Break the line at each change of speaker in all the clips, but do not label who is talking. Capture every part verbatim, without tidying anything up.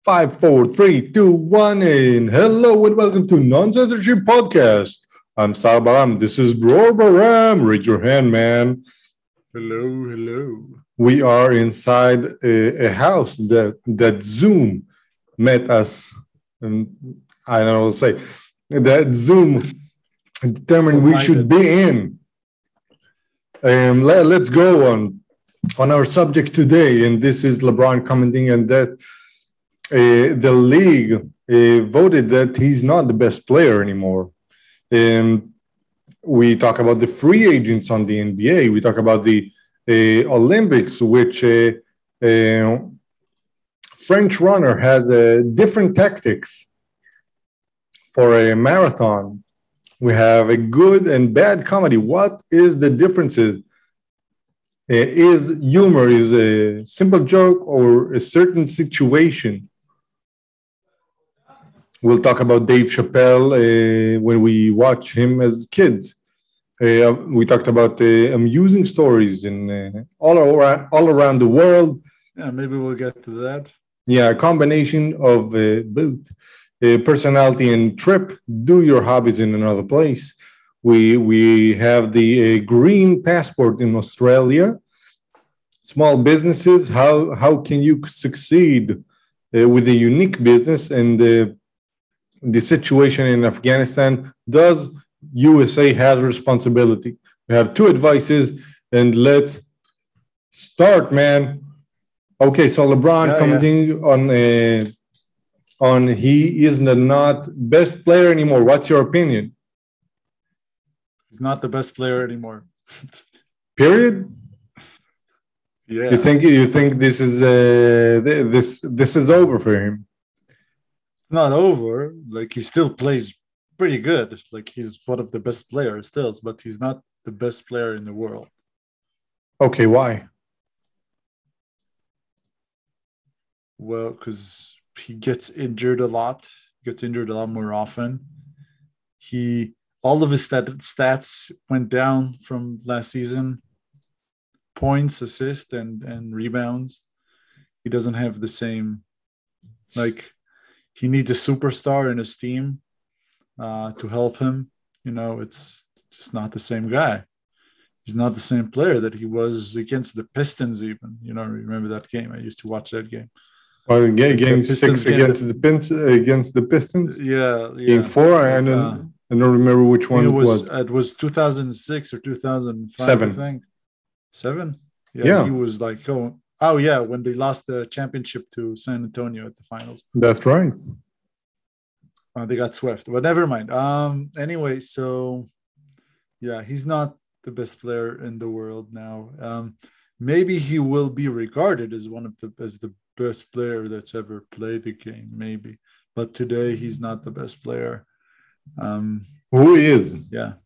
Five, four, three, two, one, and hello and welcome to Non-Censorship Podcast. I'm Sal Baram. This is Dror Baram. Raise your hand, man.
Hello, hello.
We are inside a, a house that that Zoom met us, and I don't know what to say. That Zoom determined we should be in. Um, let, let's go on on our subject today, and this is LeBron commenting on that. Uh, the league uh, voted that he's not the best player anymore. Um, we talk about the free agents on the N B A. We talk about the uh, Olympics, which uh, uh, French runner has uh, different tactics for a marathon. We have a good and bad comedy. What is the differences? Uh, is humor is a simple joke or a certain situation? We'll talk about Dave Chappelle uh, when we watch him as kids. Uh, we talked about uh, amusing stories in uh, all around all around the world.
Yeah, maybe we'll get to that.
Yeah, a combination of uh, both uh, personality and trip. Do your hobbies in another place. We we have the uh, green passport in Australia. Small businesses. How how can you succeed uh, with a unique business and uh, the situation in Afghanistan? Does U S A have responsibility? We have two advices, and let's start, man. Okay, so LeBron
Yeah,
commenting
yeah.
on uh, on he is the not best player anymore. What's your opinion?
He's not the best player anymore.
Period.
Yeah.
You think you think this is uh, this this is over for him?
Not over. Like, he still plays pretty good. Like, he's one of the best players still, but he's not the best player in the world.
Okay, why?
Well, because he gets injured a lot. Gets injured a lot more often. He all of his stat, stats went down from last season. Points, assists, and and rebounds. He doesn't have the same, like, he needs a superstar in his team uh, to help him. You know, it's just not the same guy. He's not the same player that he was against the Pistons even. You know, remember that game? I used to watch that game.
Well, game, game
Pistons
six
game,
against
the,
the Pins, against the Pistons.
Yeah, yeah.
Game four, I don't,
Uh,
I don't remember which one
it
it
was.
was.
It was two thousand six or two thousand five,
Seven.
I think. Seven? Yeah,
Yeah.
He was like, oh, oh, yeah, when they lost the championship to San Antonio at the finals.
That's right.
Uh, they got swept, but never mind. Um. Anyway, so yeah, he's not the best player in the world now. Um, maybe he will be regarded as one of the as the best player that's ever played the game. Maybe, but today he's not the best player. Um,
Who is?
Yeah,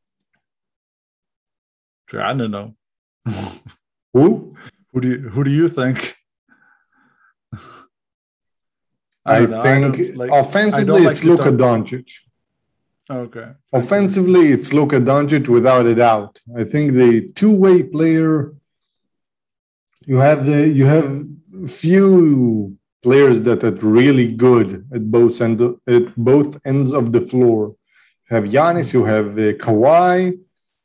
I don't know.
Who?
Who do you, who do you think?
I,
I know,
think
I like,
offensively
like
it's Luka
talk...
Doncic.
Okay.
Offensively, it's Luka Doncic without a doubt. I think the two-way player. You have the you have few players that are really good at both end at both ends of the floor. You have Giannis, you have uh, Kawhi,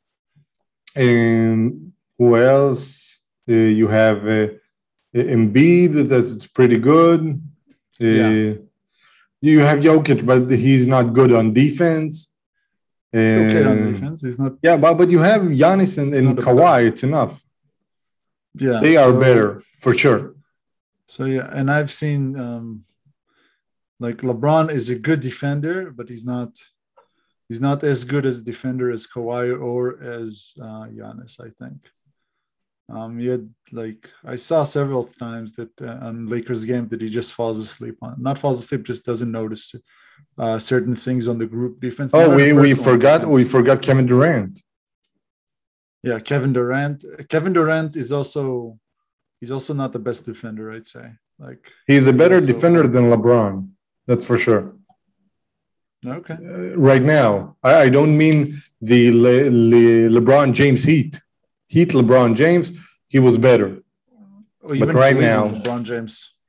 and who else? Uh, you have uh, Embiid, that's pretty good. Uh,
Yeah.
You have Jokic, but he's not good on defense.
He's okay on
Um,
defense. He's not.
Yeah, but, but you have Giannis and, and Kawhi, it's enough.
Yeah.
They are
so,
better, for sure.
So, yeah, and I've seen, um, like, LeBron is a good defender, but he's not he's not as good as defender as Kawhi or as uh, Giannis, I think. Um, he had, like, I saw several times that uh, on Lakers game that he just falls asleep on. Not falls asleep, just doesn't notice uh, certain things on the group defense.
Oh, we, we forgot defense. we forgot Kevin Durant.
Yeah, Kevin Durant. Kevin Durant is also he's also not the best defender, I'd say. Like,
he's a better
also,
defender than LeBron. That's for sure.
Okay.
Uh, right now, I, I don't mean the Le, Le, LeBron James Heat. Heat LeBron James, he was better.
Or even
but right
Cleveland,
now,
LeBron James.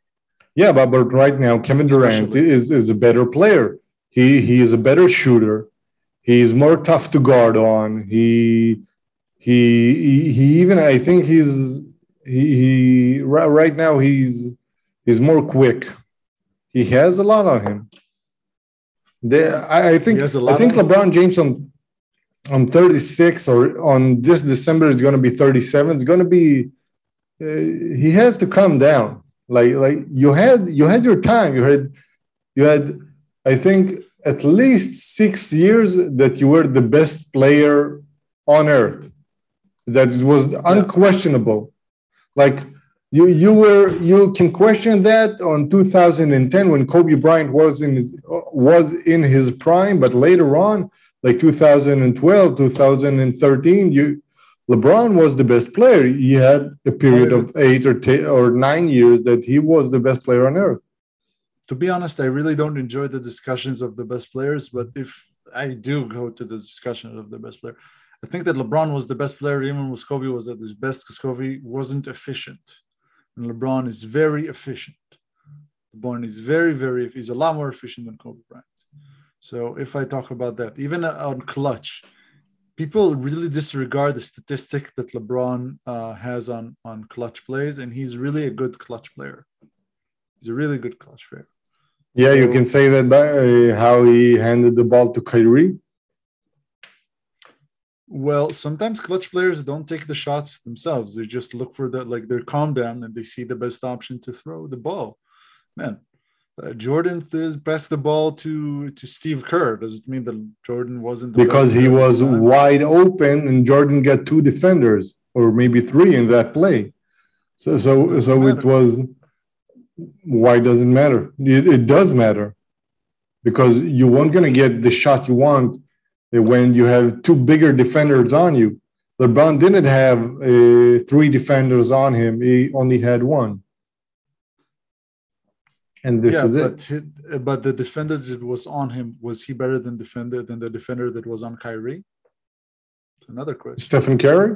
Yeah, but, but right now, Kevin Durant
Especially.
is, is a better player. He he is a better shooter. He's more tough to guard on. He he he, he even I think he's he, he right, right now he's he's more quick. He has a lot on him. The, I, I
He
think
has a
I
lot
think
on him.
LeBron James on on thirty-six or on this December is going to be thirty-seven. It's going to be uh, he has to come down. Like like you had you had your time. You had you had I think at least six years that you were the best player on earth. That was
Yeah.
unquestionable. Like you you were you can question that on two thousand ten when Kobe Bryant was in his was in his prime, but later on, like two thousand twelve, two thousand thirteen, you LeBron was the best player. He had a period
Only
of
the,
eight or ten or nine years that he was the best player on earth.
to be honest, I really don't enjoy the discussions of the best players, but if I do go to the discussion of the best player, I think that LeBron was the best player even when Kobe was at his best because Kobe wasn't efficient. And LeBron is very efficient. LeBron is very, very, he's a lot more efficient than Kobe Bryant. So if I talk about that, even on clutch, people really disregard the statistic that LeBron uh, has on, on clutch plays, and he's really a good clutch player. He's a really good clutch player.
Yeah,
So,
you can say that by uh, how he handed the ball to Kyrie.
well, sometimes clutch players don't take the shots themselves. They just look for the, like they're calm down and they see the best option to throw the ball. Man, uh, Jordan th- passed the ball to, to Steve Kerr. Does it mean that Jordan wasn't the
Because
best
he
player
was
at the time?
wide open and Jordan got two defenders or maybe three in that play. So so
Doesn't
so it
matter.
was why does it matter? It, it does matter because you weren't going to get the shot you want when you have two bigger defenders on you. LeBron didn't have uh, three defenders on him. He only had one. And this
Yeah,
is
but
it.
he, but the defender that was on him, was he better than defender than the defender that was on Kyrie? It's another question.
Stephen Curry?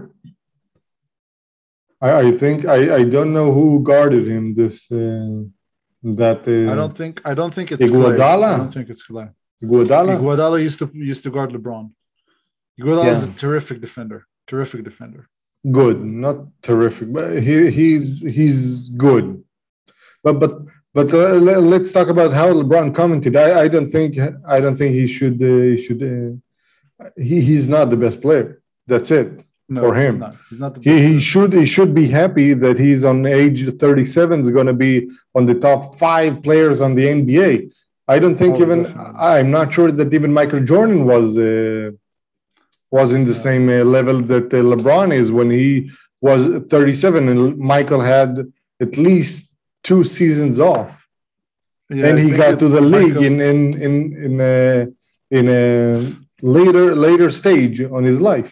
I, I think I, I don't know who guarded him this uh, that uh,
I don't think I don't think it's Clay.
Iguodala?
I don't think it's Clay.
Iguodala?
Iguodala used to used to guard LeBron. Iguodala is
Yeah.
a terrific defender. Terrific defender.
Good, not terrific, but he he's he's good. But but but uh, le- let's talk about how LeBron commented. I, I don't think I don't think he should uh, he should uh, he he's not the best player. That's it
No,
for him.
he's not. He's not the best
He he
player.
should he should be happy that he's on age thirty-seven is going to be on the top five players on the N B A. I don't think
Oh,
even
definitely.
I'm not sure that even Michael Jordan was uh, was in the
Yeah.
same uh, level that uh, LeBron is when he was thirty-seven and Michael had at least two seasons off.
Yeah,
And
I
he
think
got
that
to the league
Michael-
in in in in a in a later later stage on his life,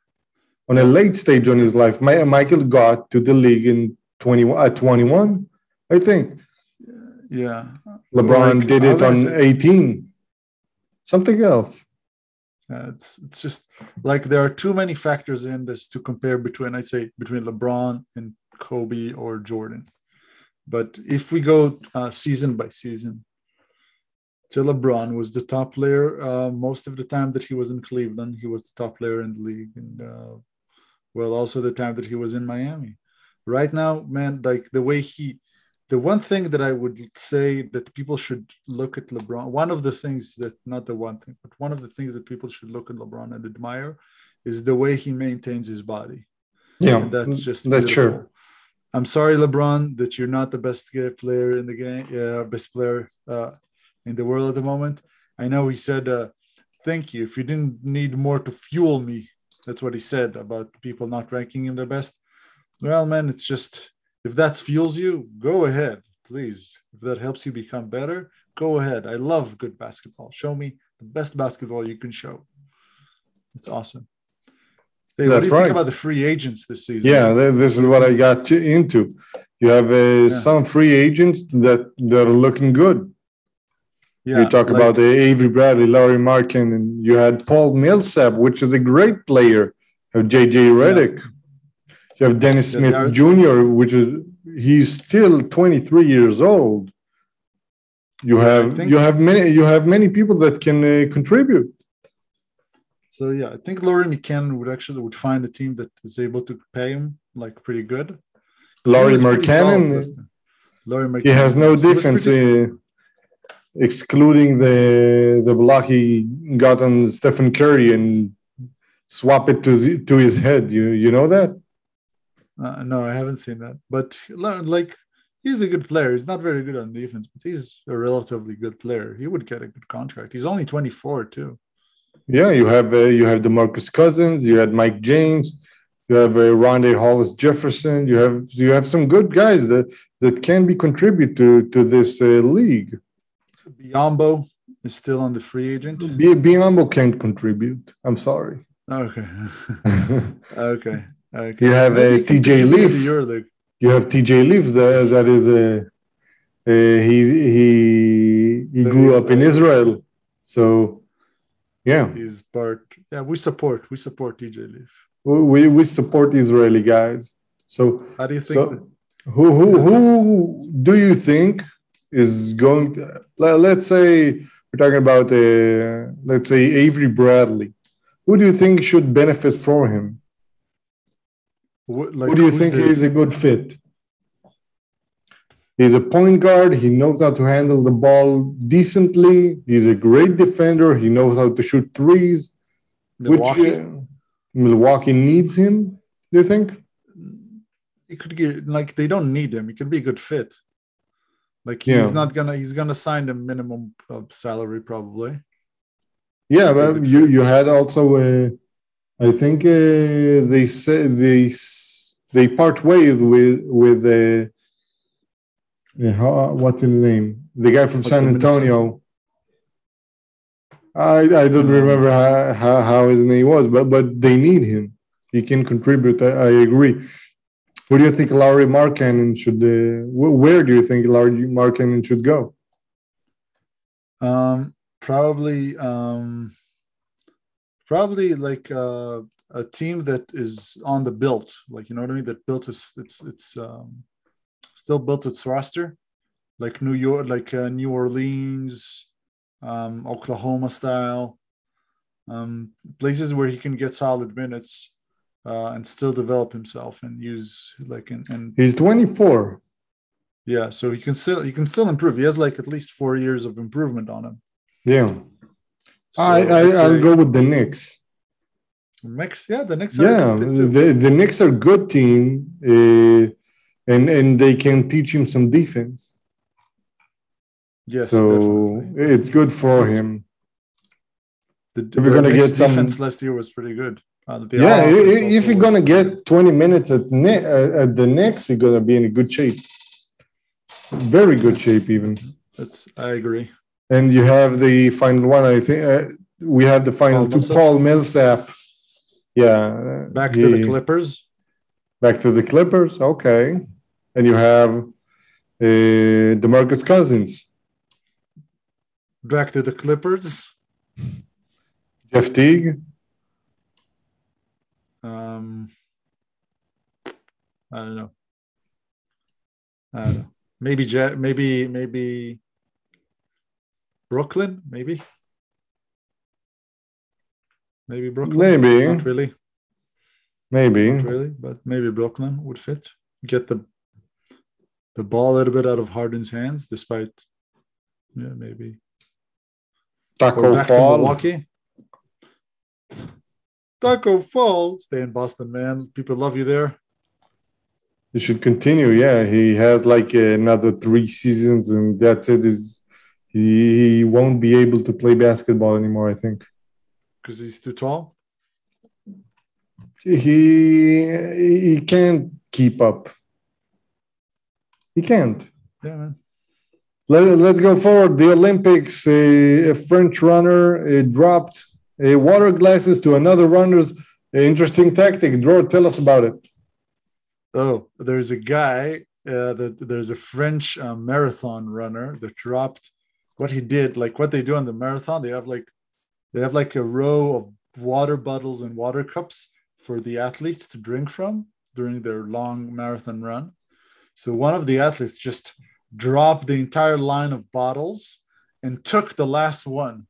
on a late stage on his life. My, Michael got to the league in twenty at twenty-one, I think.
Yeah.
LeBron
Like,
did
how
it
can I
on
say-
eighteen. Something else.
Yeah, it's it's just like there are too many factors in this to compare between, I'd say, between LeBron and Kobe or Jordan. But if we go uh, season by season, to LeBron was the top player uh, most of the time that he was in Cleveland. He was the top player in the league, and uh, well, also the time that he was in Miami. Right now, man, like the way he, the one thing that I would say that people should look at LeBron, one of the things that, not the one thing, but one of the things that people should look at LeBron and admire is the way he maintains his body.
Yeah,
And that's just
that's
beautiful.
sure.
I'm sorry, LeBron, that you're not the best player in the game, uh, best player uh, in the world at the moment. I know he said, uh, thank you. If you didn't need more to fuel me, that's what he said about people not ranking him the best. Well, man, it's just, if that fuels you, go ahead, please. If that helps you become better, go ahead. I love good basketball. Show me the best basketball you can show. It's awesome. Hey, what do you
That's
think
right.
about the free agents this season?
Yeah, th- this is what I got to, into. You have uh,
Yeah.
some free agents that that are looking good.
Yeah,
You talk
like-
about uh, Avery Bradley, Laurie Markin, and you had Paul Millsap, which is a great player. You have J J Redick. You have Dennis
Yeah,
Smith
they are-
Junior, which is he's still twenty-three years old. You
Yeah, I
have
think-
you have many you have many people that can uh, contribute.
So yeah, I think Laurie McKinnon would actually would find a team that is able to pay him like pretty good. He
Laurie
was pretty solid
Markkanen,
last time. Laurie
he has
McKinnon,
no
yes. He was
defense,
pretty-
uh, excluding the the block he got on Stephen Curry and swap it to z- to his head. You you know that?
Uh, no, I haven't seen that. But like, he's a good player. He's not very good on defense, but he's a relatively good player. He would get a good contract. He's only twenty-four too.
Yeah, you have uh, you have DeMarcus Cousins, you had Mike James, you have uh, Rondé Hollis Jefferson. You have you have some good guys that that can be contribute to to this uh, league.
Biombo is still on the free agent.
B- Biombo can't contribute. I'm sorry.
Okay. okay. Okay.
You have
Maybe
uh,
he can
T J
contribute in
Leaf.
the EuroLeague.
You have T J Leaf. That that is a uh, uh, he he he
That
grew
is,
up in
uh,
Israel, so yeah.
He's part. Yeah, we support. We support T J Leaf.
We we support Israeli guys. So
How do you think?
so
that-
who who who do you think is going to, le- let's say we're talking about uh, let's say Avery Bradley. Who do you think should benefit from him?
what, like,
Who do you
who's
think
this?
is a good fit? He's a point guard. He knows how to handle the ball decently. He's a great defender. He knows how to shoot threes.
Milwaukee?
Which uh, Milwaukee needs him, do you think?
He could get like they don't need him. He could be a good fit. Like he's
Yeah.
not gonna. He's gonna sign the minimum uh, salary probably.
Yeah,
Good
but you
fit.
you had also uh, I think uh, they said they s- they part ways with with uh, uh, how, what's his name? The guy from
What's
San
the Minnesota-
Antonio. I I don't
Um,
remember how, how how his name was, but but they need him. He can contribute. I, I agree. Where do you think Laurie Markkanen should? Uh, wh- where do you think Laurie Markkanen should go?
Um, probably, um, probably like uh, a team that is on the built, like you know what I mean. That built its it's it's um, still built its roster, like New York, like uh, New Orleans, um, Oklahoma style, um, places where he can get solid minutes uh, and still develop himself and use like and, and
He's twenty-four.
yeah, so he can still he can still improve. He has like at least four years of improvement on him.
Yeah,
So
I, I
I'd
I'll
say
go with the Knicks.
Knicks, yeah, the Knicks are a
Yeah,
good fit too.
the the Knicks are good team, uh, and and they can teach him some defense.
Yes,
so
definitely.
it's good for him.
The,
if you're
the
gonna
Knicks
get some-
defense last year was pretty good. Uh, the
Yeah,
offense
i- i-
also
if you're
was
gonna
pretty good.
get twenty minutes at ne- uh, at the Knicks, you're gonna be in a good shape. Very good shape, even.
That's I agree.
And you have the final one. I think uh, we had the final
Paul
two.
Millsap?
Paul Millsap. Yeah. uh,
Back to the
he-
Clippers.
Back to the Clippers. Okay. And you have uh, DeMarcus Cousins,
Back to the Clippers.
Jeff Teague.
Um, I don't know. I don't know. Maybe Ja- maybe maybe Brooklyn. Maybe. Maybe Brooklyn.
Maybe.
Not really.
Maybe.
Not really, but maybe Brooklyn would fit. Get the the ball a little bit out of Harden's hands, despite yeah, maybe. Or
Taco
back to
Fall.
Milwaukee. Taco Fall. Stay in Boston, man. People love you there.
You should continue. Yeah, he has like another three seasons, and that's it. Is he, he won't be able to play basketball anymore? I think
Because he's too tall.
he he can't keep up. He can't.
Yeah, man.
Let, let's go forward. The Olympics. A, a French runner uh, dropped uh, water glasses to another runner's. Interesting tactic. Dror, tell us about it.
Oh, there's a guy uh, that there's a French uh, marathon runner that dropped what he did. Like what they do on the marathon, they have like they have like a row of water bottles and water cups for the athletes to drink from during their long marathon run. So one of the athletes just dropped the entire line of bottles and took the last one.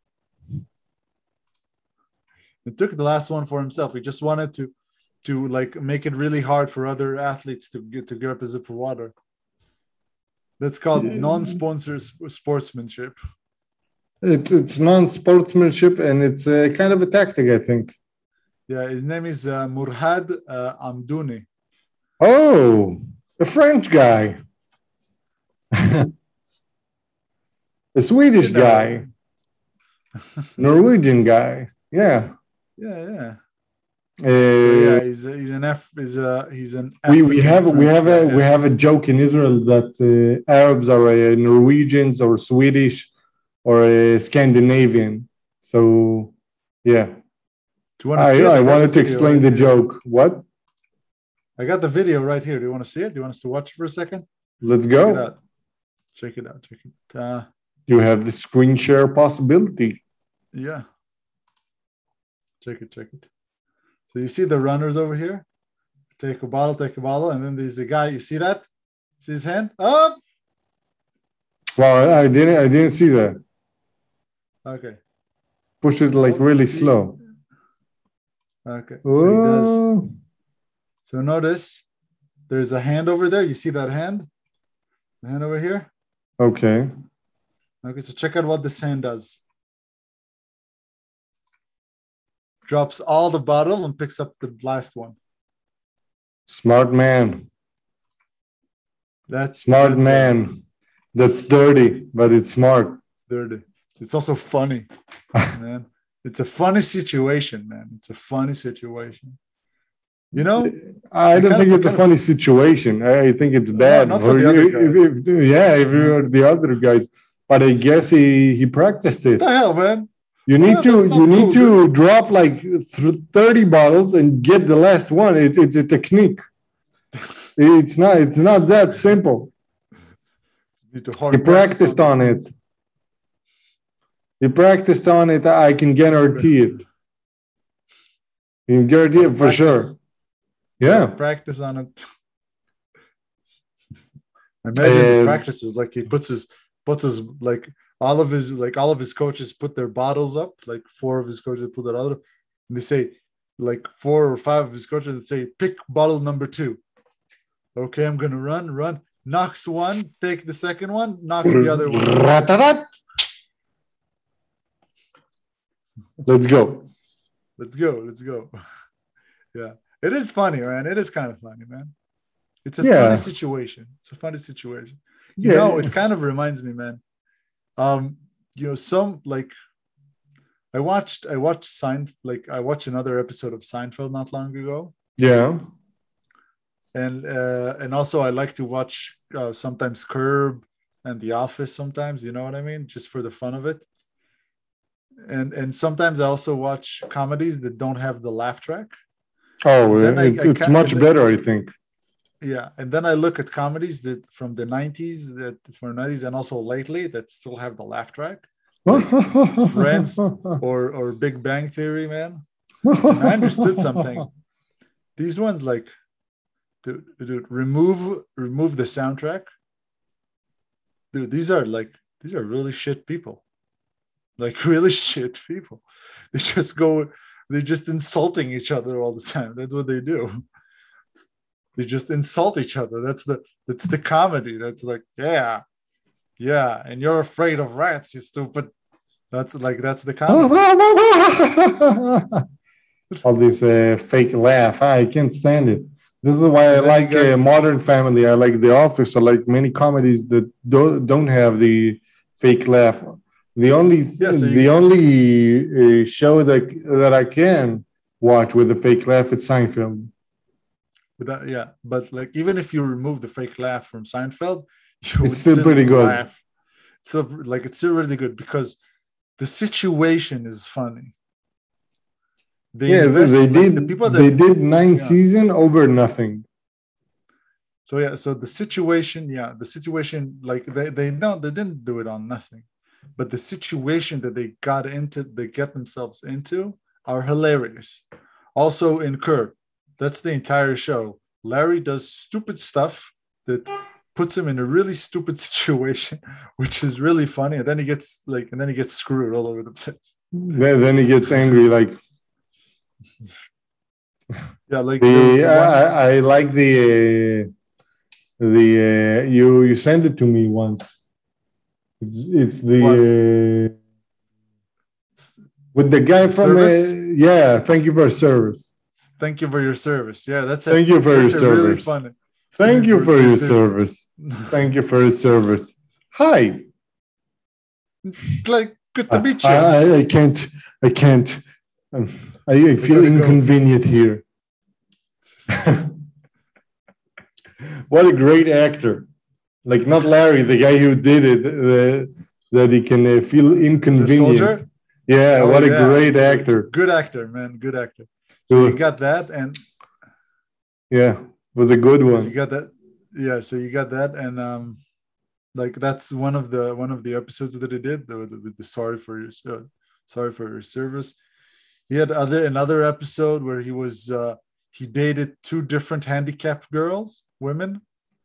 He took the last one for himself. He just wanted to, to like make it really hard for other athletes to get to grab a sip of water. That's called non-sponsor sportsmanship.
It's it's non-sportsmanship, and it's a kind of a tactic, I think.
Yeah, his name is uh, Murhad uh, Amdouni.
Oh, a French guy, a Swedish you know. guy, Norwegian guy. Yeah,
yeah, yeah.
Uh,
so yeah, he's a, he's an F. He's a he's an.
We we have we have a we have a joke in Israel that uh, Arabs are uh, Norwegians or Swedish or uh, Scandinavian. So yeah. Do you want to I, see it? I, I wanted to explain right the here. joke. What?
I got the video right here. Do you want to see it? Do you want us to watch it for a second?
Let's go.
Check it out. Check it out. Check it. Uh,
you have the screen share possibility.
Yeah. Check it. Check it. So you see the runners over here? Take a bottle, take a bottle, and then there's the guy. You see that? See his hand? Up.
Well, I didn't. I didn't see that.
Okay.
Push it like really slow.
Okay. So he does. So notice there's a hand over there. You see that hand? The hand over here?
Okay.
Okay, so check out what this hand does. Drops all the bottle and picks up the last one.
Smart man.
That's
smart
that's
man.
A,
that's dirty, but it's smart.
It's dirty. It's also funny, man. It's a funny situation, man. It's a funny situation. You know,
I don't think it's a funny of, situation. I think it's bad.
No, not for the other guys.
If, if, yeah, if you're the other guys, but I guess he he practiced it.
What the hell, man?
You need well, to you cool, need to dude. drop like thirty bottles and get the last one. It, it's a technique. It's not it's not that simple.
You need to
he practiced on, on it. He practiced on it. I can guarantee it. You can guarantee it for practice. sure. Yeah.
Practice on it. Imagine uh, practices like he puts his puts his like all of his like all of his coaches put their bottles up, like four of his coaches put their other, and they say like four or five of his coaches that say pick bottle number two. Okay, I'm gonna run, run, knocks one, take the second one, knocks the other one.
Let's go.
Let's go. Let's go. Yeah. It is funny, man. It is kind of funny, man. It's a yeah. funny situation. It's a funny situation. You yeah. know, it kind of reminds me, man. Um, you know, some like I watched I watched Seinfeld, like I watched another episode of Seinfeld not long ago.
Yeah.
And uh, and also I like to watch uh, sometimes Curb and The Office sometimes, you know what I mean? Just for the fun of it. And and sometimes I also watch comedies that don't have the laugh track.
Oh, it, I, it's I much better, I think.
Yeah, and then I look at comedies that from the nineties, that from the nineties, and also lately that still have the laugh track, like Friends or or Big Bang Theory, man. And I understood something. These ones, like, dude, dude, remove remove the soundtrack. Dude, these are like these are really shit people, like really shit people. They just go. They're just insulting each other all the time. That's what they do. They just insult each other. That's the that's the comedy. That's like, yeah, yeah, and you're afraid of rats, you stupid. That's like that's the comedy.
All this uh, fake laugh. I can't stand it. This is why I like uh, Modern Family. I like The Office. I like many comedies that don't don't have the fake laugh. The only yeah, so the only uh, show that that I can watch with a fake laugh is Seinfeld.
But that, yeah, but like even if you remove the fake laugh from Seinfeld, you
it's still, still pretty good.
Laugh. It's still like it's still really good because the situation is funny.
They yeah, invest, they like, did. The people that, they did nine yeah. season over nothing.
So yeah, so the situation, yeah, the situation, like they they no, they didn't do it on nothing. But the situation that they got into, they get themselves into, are hilarious. Also in Curb, that's the entire show. Larry does stupid stuff that puts him in a really stupid situation, which is really funny. And then he gets like, and then he gets screwed all over the place.
Then, then he gets angry. Like,
yeah, like
the,
one...
I, I like the uh, the uh, you you sent it to me once. It's, it's the uh, with the guy
the
from uh, yeah. Thank you for service.
Thank you for your service. Yeah, that's
thank
a,
you for your service.
Really funny.
Thank you for your service. Thank you for your service. Hi.
Like, good to meet you.
I, I, I can't. I can't. Um, I, I feel inconvenient go. here. What a great actor! Like not Larry, the guy who did it, uh, that he can uh, feel inconvenient.
The soldier?
Yeah,
oh,
what a
yeah.
great actor!
Good actor, man. Good actor. So you got that, and
yeah, it was a good one.
So you got that, yeah. So you got that, and um, like that's one of the one of the episodes that he did the, the, with the sorry for your uh, sorry for your service. He had other another episode where he was uh, he dated two different handicapped girls, women.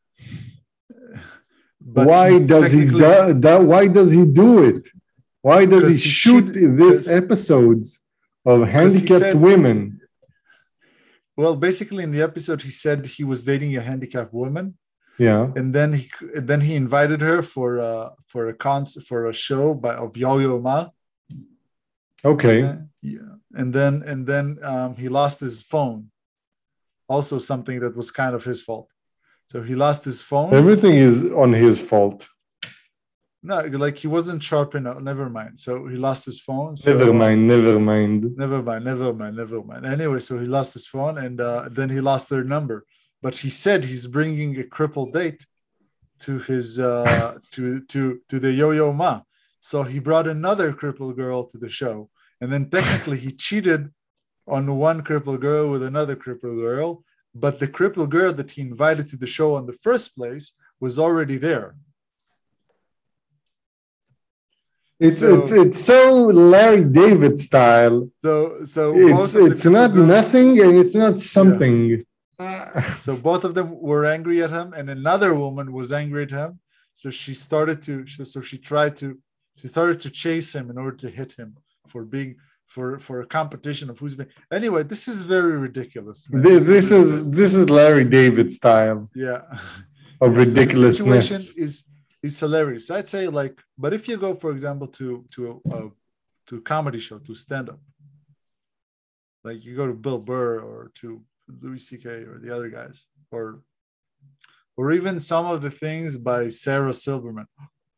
But why does he do that? Why does he do it? Why does he shoot he these episodes of handicapped said, women?
Well, basically, in the episode, he said he was dating a handicapped woman.
Yeah,
and then he then he invited her for uh for a concert for a show by of Yo-Yo Ma.
Okay.
Uh, yeah, and then and then um, he lost his phone. Also, something that was kind of his fault. So he lost his phone.
Everything is on his fault.
No, like he wasn't sharp enough. Never mind. So he lost his phone. So,
never mind. Never mind.
Never mind. Never mind. Never mind. Anyway, so he lost his phone, and uh, then he lost their number. But he said he's bringing a crippled date to his uh, to to to the Yo-Yo Ma. So he brought another crippled girl to the show, and then technically he cheated on one crippled girl with another crippled girl. But the crippled girl that he invited to the show in the first place was already there.
It's so, it's it's so Larry David style.
So so
it's it's not girls, nothing and it's not something.
Yeah. So both of them were angry at him, and another woman was angry at him. So she started to so she tried to she started to chase him in order to hit him for being for for a competition of who's been. Anyway, this is very ridiculous.
Man. This this is this is Larry David style.
Yeah,
of
yeah,
ridiculousness.
So the situation is is hilarious. I'd say like, but if you go, for example, to to a, a to a comedy show, to stand up, like you go to Bill Burr or to Louis C K or the other guys, or or even some of the things by Sarah Silverman.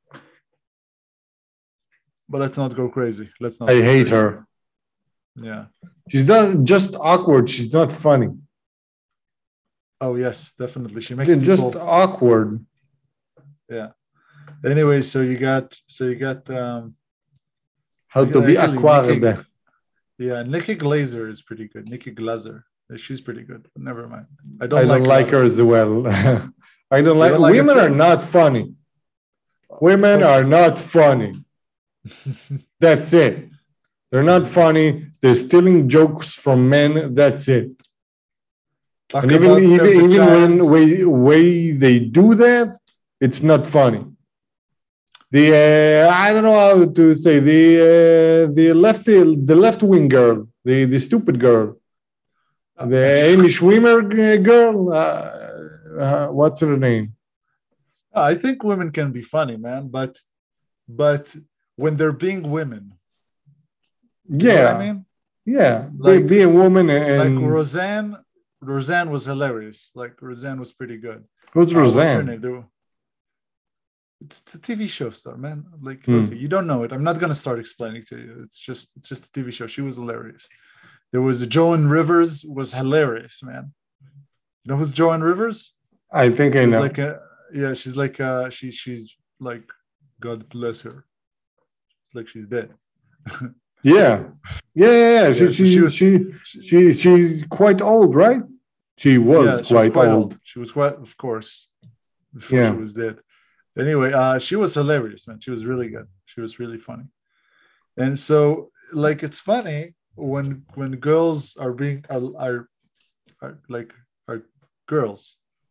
But let's not go crazy. Let's not.
I hate
crazy.
her.
Yeah,
she's not just awkward. She's not funny.
Oh yes, definitely. She makes
people... just awkward.
Yeah. Anyway, so you got so you got um
how to be awkward.
Nikki, yeah, Nikki Glazer is pretty good. Nikki Glazer. She's pretty good. But never mind. I don't
I
like,
don't like her as well. I don't like, don't like women are not funny. Women are not funny. That's it. They're not funny. They're stealing jokes from men. That's it. Talk and even even, even when way, way they do that, it's not funny. The uh, I don't know how to say the uh, the left the left wing girl, the the stupid girl, the Amy Schwimmer girl. Uh, uh, what's her name?
I think women can be funny, man, but but when they're being women.
Yeah,
you know what I mean,
yeah,
like
be a woman and
like Roseanne. Roseanne was hilarious. Like Roseanne was pretty good.
Who's
uh,
Roseanne?
What's her name? Were, it's, it's a T V show star, man. Like
mm.
okay, you don't know it. I'm not gonna start explaining to you. It's just it's just a T V show. She was hilarious. There was Joan Rivers was hilarious, man. You know who's Joan Rivers?
I think I
she's
know.
Like a, yeah, she's like uh she she's like God bless her. It's like she's dead.
Yeah, yeah, yeah. yeah. She, yeah, she, she, was, she, she, she's quite old, right? She was,
yeah,
quite,
she was quite
old.
old. She was quite, of course, before
yeah.
she was dead. Anyway, uh, she was hilarious, man. She was really good. She was really funny. And so, like, it's funny when when girls are being are are, are like are girls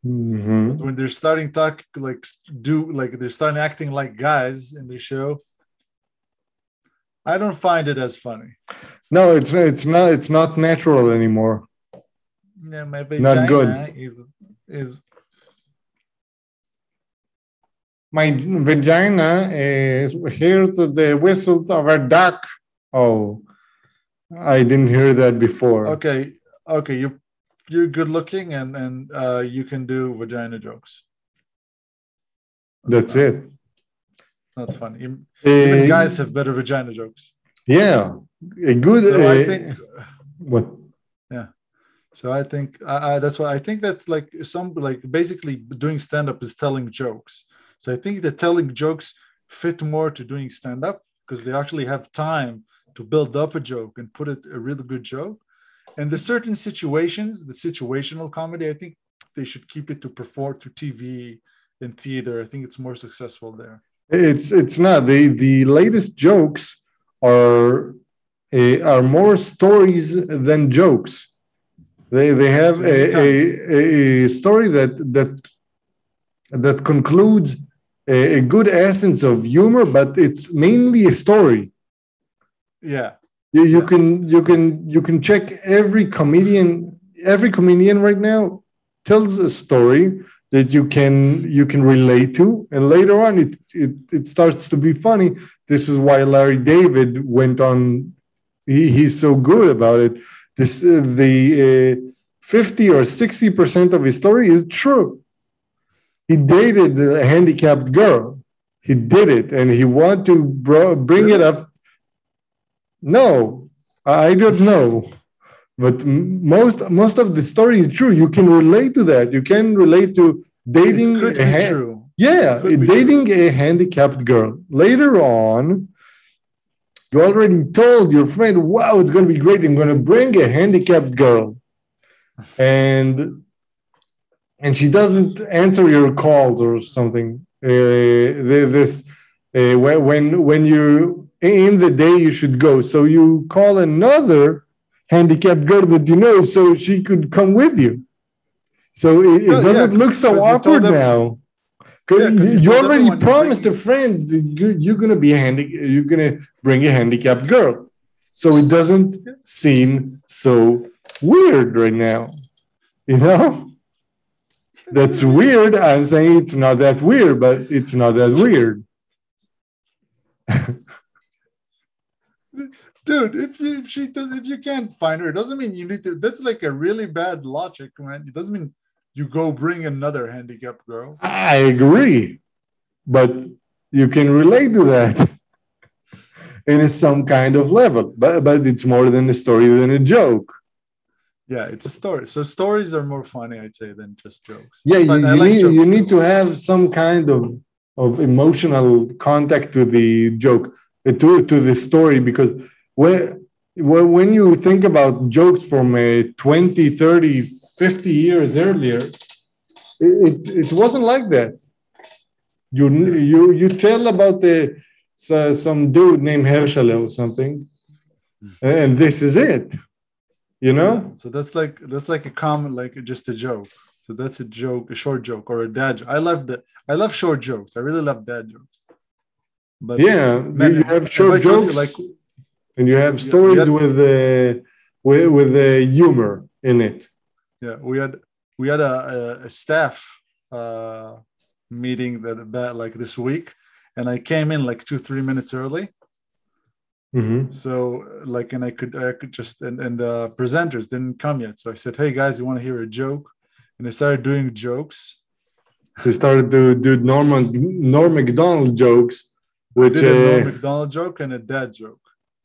Mhm.
But when they're starting talk like do like they're starting acting like guys in the show, I don't find it as funny.
No, it's it's not it's not natural anymore.
Yeah, my
Not good.
vagina is is
My vagina is hears the whistles of a duck. Oh, I didn't hear that before.
okay. Okay, you you're good looking and and uh, you can do vagina jokes.
That's
not,
it.
Not funny. Even,
Uh,
even guys have better vagina jokes.
Yeah, a good.
So
uh,
I think
what?
yeah. So I think I, I, that's why I think that's like some like basically doing stand up is telling jokes. So I think that telling jokes fit more to doing stand up because they actually have time to build up a joke and put it a really good joke. And the certain situations, the situational comedy, I think they should keep it to perform to T V and theater. I think it's more successful there.
It's it's not the the latest jokes are uh, are more stories than jokes. They they have a, a, a story that that that concludes a, a good essence of humor, but it's mainly a story.
Yeah.
You, you
Yeah.
can you can you can check every comedian every comedian right now tells a story that you can you can relate to, and later on it it, it starts to be funny. This is why Larry David went on. He, he's so good about it. This uh, the uh, fifty or sixty percent of his story is true. He dated a handicapped girl. He did it, and he wanted to bro- bring
Really?
it up. No, I don't know. But most most of the story is true. You can relate to that. You can relate to dating.
It could
a
be
ha-
true.
Yeah,
Could be
dating a handicapped girl. Later on, you already told your friend, "Wow, it's going to be great. I'm going to bring a handicapped girl," and and she doesn't answer your calls or something. Uh, this uh, when when you in the day you should go, so you call another handicapped girl that you know, so she could come with you. So it, it
Well,
doesn't
yeah,
look so awkward
them,
now. Cause
yeah,
you,
you,
you already promised
bring...
a friend that you're, you're gonna be a handi- you're gonna bring a handicapped girl, so it doesn't seem so weird right now. You know, that's weird. I'm saying it's not that weird, but it's not that weird.
Dude, if you if she does if you can't find her, it doesn't mean you need to. That's like a really bad logic, man. It doesn't mean you go bring another handicapped girl.
I agree, but you can relate to that in some kind of level. But but it's more than a story than a joke.
Yeah, it's a story. So stories are more funny, I'd say, than just jokes.
Yeah, you, you
like
need you
too.
need to have some kind of of emotional contact to the joke, to to the story, because when when you think about jokes from a twenty, thirty, fifty years earlier, it, it, it wasn't like that. You you you tell about the so, some dude named Herschel or something, and this is it. You know?
Yeah. So that's like that's like a common, like just a joke. So that's a joke, a short joke, or a dad joke. I love the I love short jokes. I really love dad jokes.
But yeah, man, you have short jokes, you, like, and you have stories had, with uh, with with the uh, humor in it.
Yeah, we had we had a, a, a staff uh, meeting that, that like this week, and I came in like two three minutes early.
Mm-hmm.
So like, and I could I could just and, and the presenters didn't come yet. So I said, "Hey guys, you want to hear a joke?" And they started doing jokes.
They started to do Norman Norm Macdonald jokes, which
I did a
uh,
Norm Macdonald joke and a dad joke.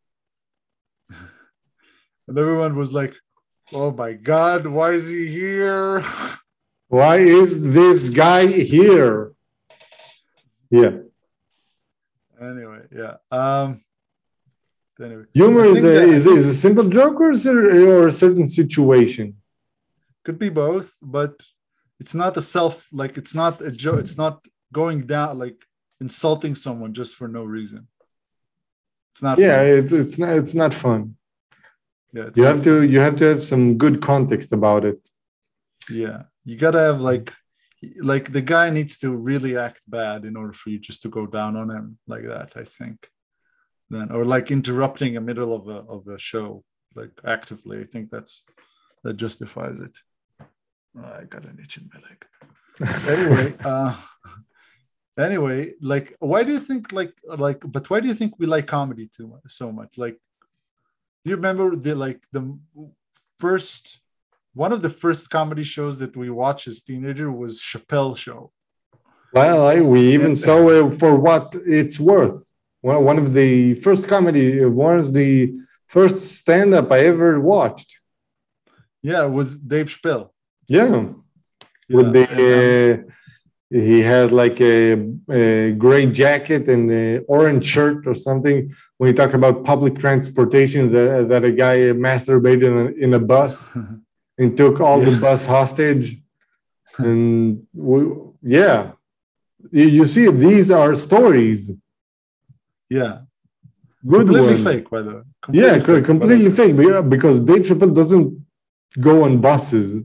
And everyone was like, "Oh my God, why is he here?
Why is this guy here?" Yeah.
Anyway, yeah. Um. Anyway,
humor is a, is, is a simple joke or, or a certain situation?
Could be both, but it's not a self, like it's not a joke. It's not going down, like insulting someone just for no reason. It's not.
Yeah, it, it's not. It's not fun.
Yeah,
you have fun. to. You have to have some good context about it.
Yeah, you gotta have like like the guy needs to really act bad in order for you just to go down on him like that, I think. Then or like interrupting a middle of a of a show, like actively. I think that's that justifies it. Oh, I got an itch in my leg. Anyway, uh anyway, like why do you think like like but why do you think we like comedy too much so much? Like do you remember the like the first one of the first comedy shows that we watched as teenager was Chappelle Show.
Well, I, we even saw it for what it's worth. One, one of the first comedy, one of the first stand-up I ever watched.
Yeah, it was Dave Chappelle.
Yeah,
Yeah,
with the
and, um,
uh, he had like a, a gray jacket and an orange shirt or something. When you talk about public transportation, that that a guy masturbated in a, in a bus and took all
Yeah.
the bus hostage, and we, yeah. You see, these are stories.
yeah,
Good
completely
ones.
fake, by the way. Completely
Yeah,
fake,
completely
but,
fake. Yeah, because Dave Chappelle doesn't go on buses.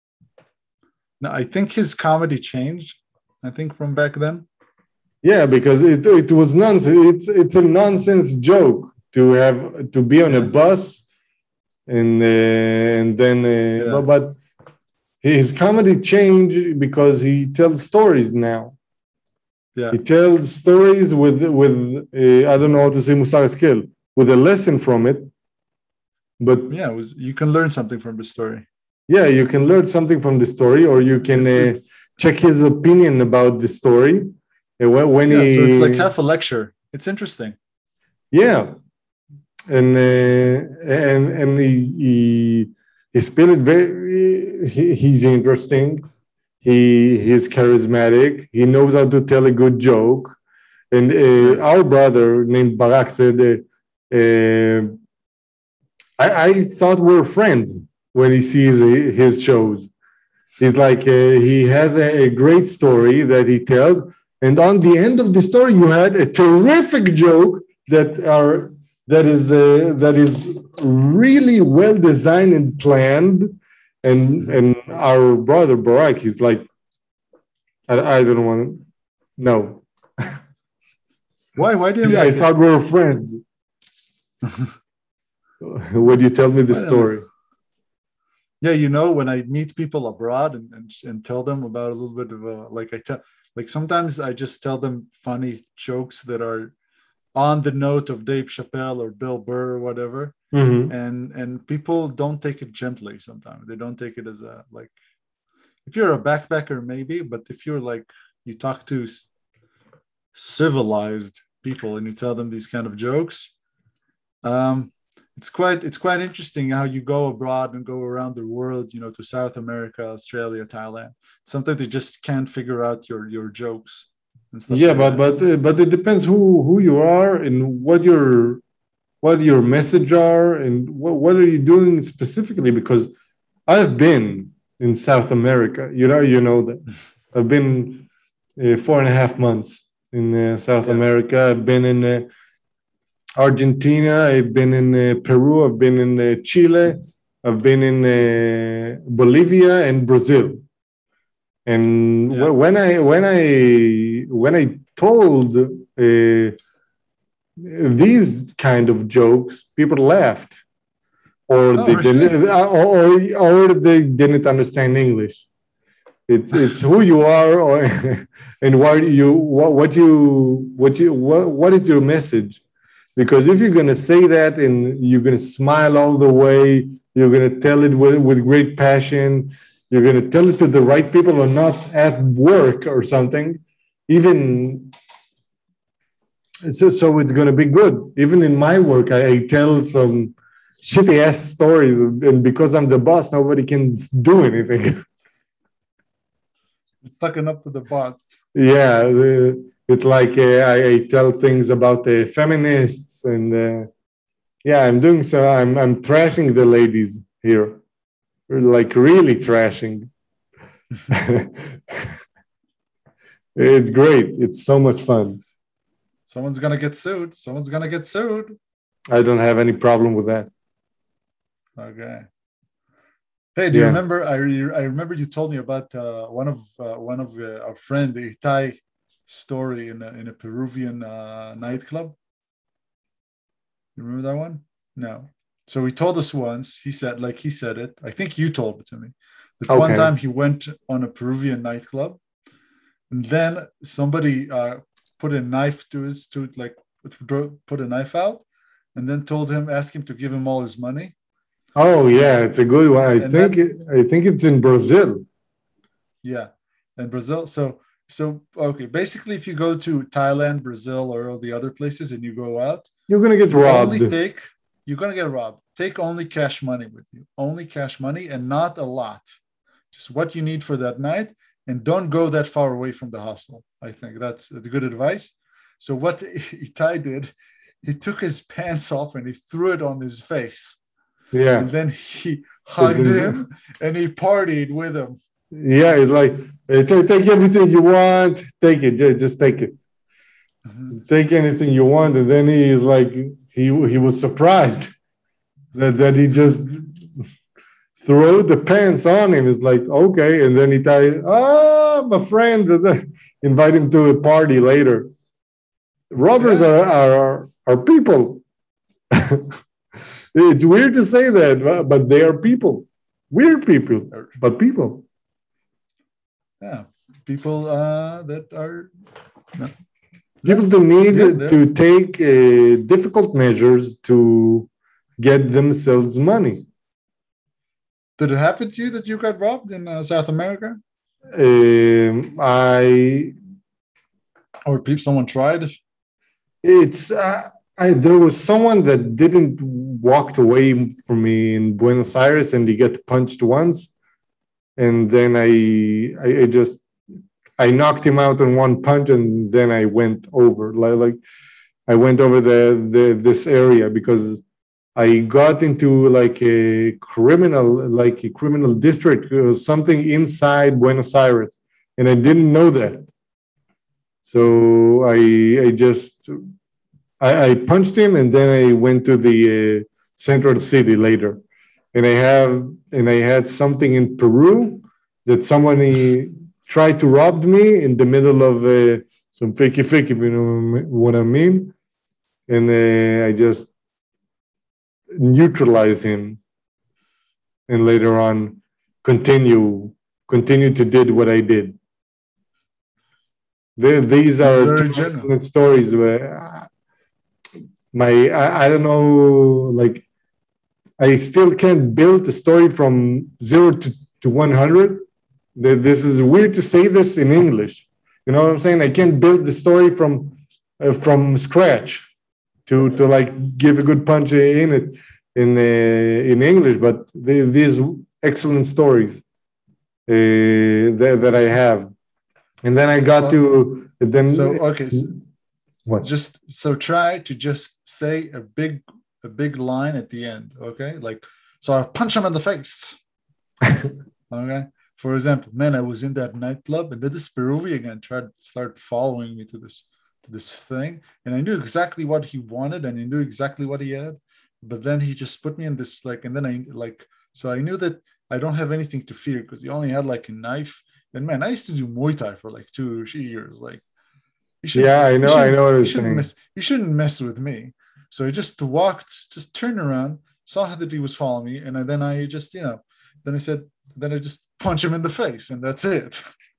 no, I think his comedy changed. I think from back then.
Yeah, because it it was nonsense. It's it's a nonsense joke to have to be on
Yeah.
a bus, and uh, and then uh,
Yeah.
but, but his comedy changed because he tells stories now.
Yeah,
He tells stories with with uh, I don't know how to say musar skill, with a lesson from it. But
yeah, it was, you can learn something from the story.
yeah, you can learn something from the story, or you can
It's,
uh,
it's,
check his opinion about the story. And when, when
yeah,
he,
so it's like half a lecture. It's interesting.
yeah, and uh, and and he he he spell it very. He, he's interesting. He he's charismatic. He knows how to tell a good joke. And uh,
Yeah.
our brother named Barak said, uh, uh, I, "I thought we were friends when he sees his shows." He's like, uh, he has a, a great story that he tells, and on the end of the story, you had a terrific joke that are that is uh, that is really well designed and planned. And and our brother Barak, he's like, I, I don't want to, no.
Why? Why didn't
Yeah,
like
I thought
it?
we were friends. When you tell me the
I don't
story.
know. Yeah, you know, when I meet people abroad and, and and tell them about a little bit of a like I tell like sometimes I just tell them funny jokes that are on the note of Dave Chappelle or Bill Burr or whatever,
Mhm.
and and people don't take it gently. Sometimes they don't take it as a like. If you're a backpacker, maybe, but if you're like you talk to civilized people and you tell them these kind of jokes, um, it's quite it's quite interesting how you go abroad and go around the world, you know, to South America, Australia, Thailand. Sometimes they just can't figure out your your jokes and stuff
Yeah,
like
but
that.
but uh, but it depends who who you are and what your what your message are and what what are you doing specifically. Because I've been in South America. You know, you know that I've been uh, four and a half months in uh, South
Yeah.
America. I've been in uh, Argentina. I've been in uh, Peru. I've been in uh, Chile. I've been in uh, Bolivia and Brazil. And
Yeah.
when I when I when I told uh, these kind of jokes, people laughed, or
Oh,
they
really?
didn't, or or they didn't understand English. It's it's who you are, or and why you what what you what you what what is your message? Because if you're gonna say that and you're gonna smile all the way, you're gonna tell it with with great passion. You're gonna tell it to the right people or not at work or something. Even so, so it's gonna be good. Even in my work, I, I tell some shitty ass stories, and because I'm the boss, nobody can do anything.
Sucking up to the boss.
Yeah, the, it's like uh, I, I tell things about the feminists, and uh, yeah, I'm doing so. I'm I'm trashing the ladies here, like really trashing. It's great. It's so much fun.
Someone's gonna get sued. Someone's gonna get sued.
I don't have any problem with that.
Okay. Hey, do you
Yeah.
remember? I re- I remember you told me about uh, one of uh, one of uh, our friend the Thai story in a, in a Peruvian uh, nightclub. You remember that one? No. So he told us once. He said, like he said it. I think you told it to me. That one
Okay.
time he went on a Peruvian nightclub, and then somebody uh, put a knife to his to like put a knife out, and then told him, ask him to give him all his money,
Oh yeah, it's a good one. I
and
think
then
it, I think it's in Brazil.
yeah, and Brazil. So so okay, basically, if you go to Thailand, Brazil, or all the other places, and you go out,
You're gonna get
you only
robbed.
take you're gonna get robbed. Take only cash money with you, only cash money, and not a lot. Just what you need for that night, and don't go that far away from the hostel. I think that's, that's good advice. So what Itai did, he took his pants off and he threw it on his face,
Yeah.
and then he
It's
hugged
in,
him and he partied with him.
yeah, it's like hey, take, take everything you want, take it, ju- just take it.
Mhm.
Take anything you want. And then he is like he he was surprised that, that he just throw the pants on him. It's like, okay. And then he tells, ah, my friend, invite him to a party later. Robbers
Yeah,
are, are, are people. It's weird to say that, but they are people. Weird people, but people.
yeah. People uh, that are no, yeah,
People do need
yeah. There.
to take uh, difficult measures to get themselves money.
Did it happen to you that you got robbed in uh, South America,
Um, I
or people someone tried?
It's uh, I, there was someone that didn't walked away from me in Buenos Aires, and he got punched once, and then I, I I just I knocked him out in one punch, and then I went over like, like I went over the the this area because I got into like a criminal like a criminal district. It was something inside Buenos Aires, and I didn't know that. So I I just I, I punched him, and then I went to the uh, central city later, and I have and I had something in Peru that somebody tried to rob me in the middle of uh, some fakey fakey, you know what I mean? And uh, I just neutralize him, and later on continue continue to did what I did. The, these
That's
are
very
two
genuine.
excellent stories where my I, I don't know, like I still can't build a story from zero to, to one hundred. This is weird to say this in English. You know what I'm saying? I can't build the story from uh, from scratch to to like give a good punch in it in uh, in English. But the, these excellent stories uh, that, that I have, and then I got
So,
to then
so okay, so
what?
just so try to just say a big a big line at the end. Okay, like so I punch him in the face. Okay. For example, man, I was in that nightclub, and then this Peruvian guy tried to start following me to this to this thing, and I knew exactly what he wanted, and I knew exactly what he had, but then he just put me in this like, and then I like, so I knew that I don't have anything to fear because he only had like a knife. And man, I used to do Muay Thai for like two years. Like, he shouldn't,
Yeah, I
he
know, I
shouldn't,
know what
he
you're
shouldn't
saying.
mess, he shouldn't mess with me. So I just walked, just turned around, saw that he was following me, and then I just, you know, then I said, then I just punch him in the face, and that's it.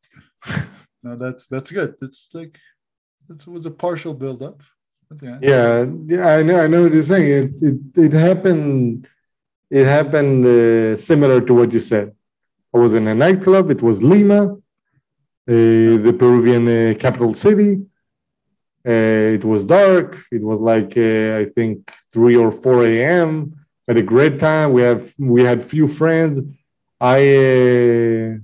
No, that's that's good. It's like that was a partial build-up. But yeah.
Yeah, yeah, I know, I know what you're saying. It it, it happened. It happened uh, similar to what you said. I was in a nightclub. It was Lima, uh,
Yeah.
the Peruvian uh, capital city. Uh, it was dark. It was like uh, I think three or four a m. Had a great time. We have we had few friends. I uh,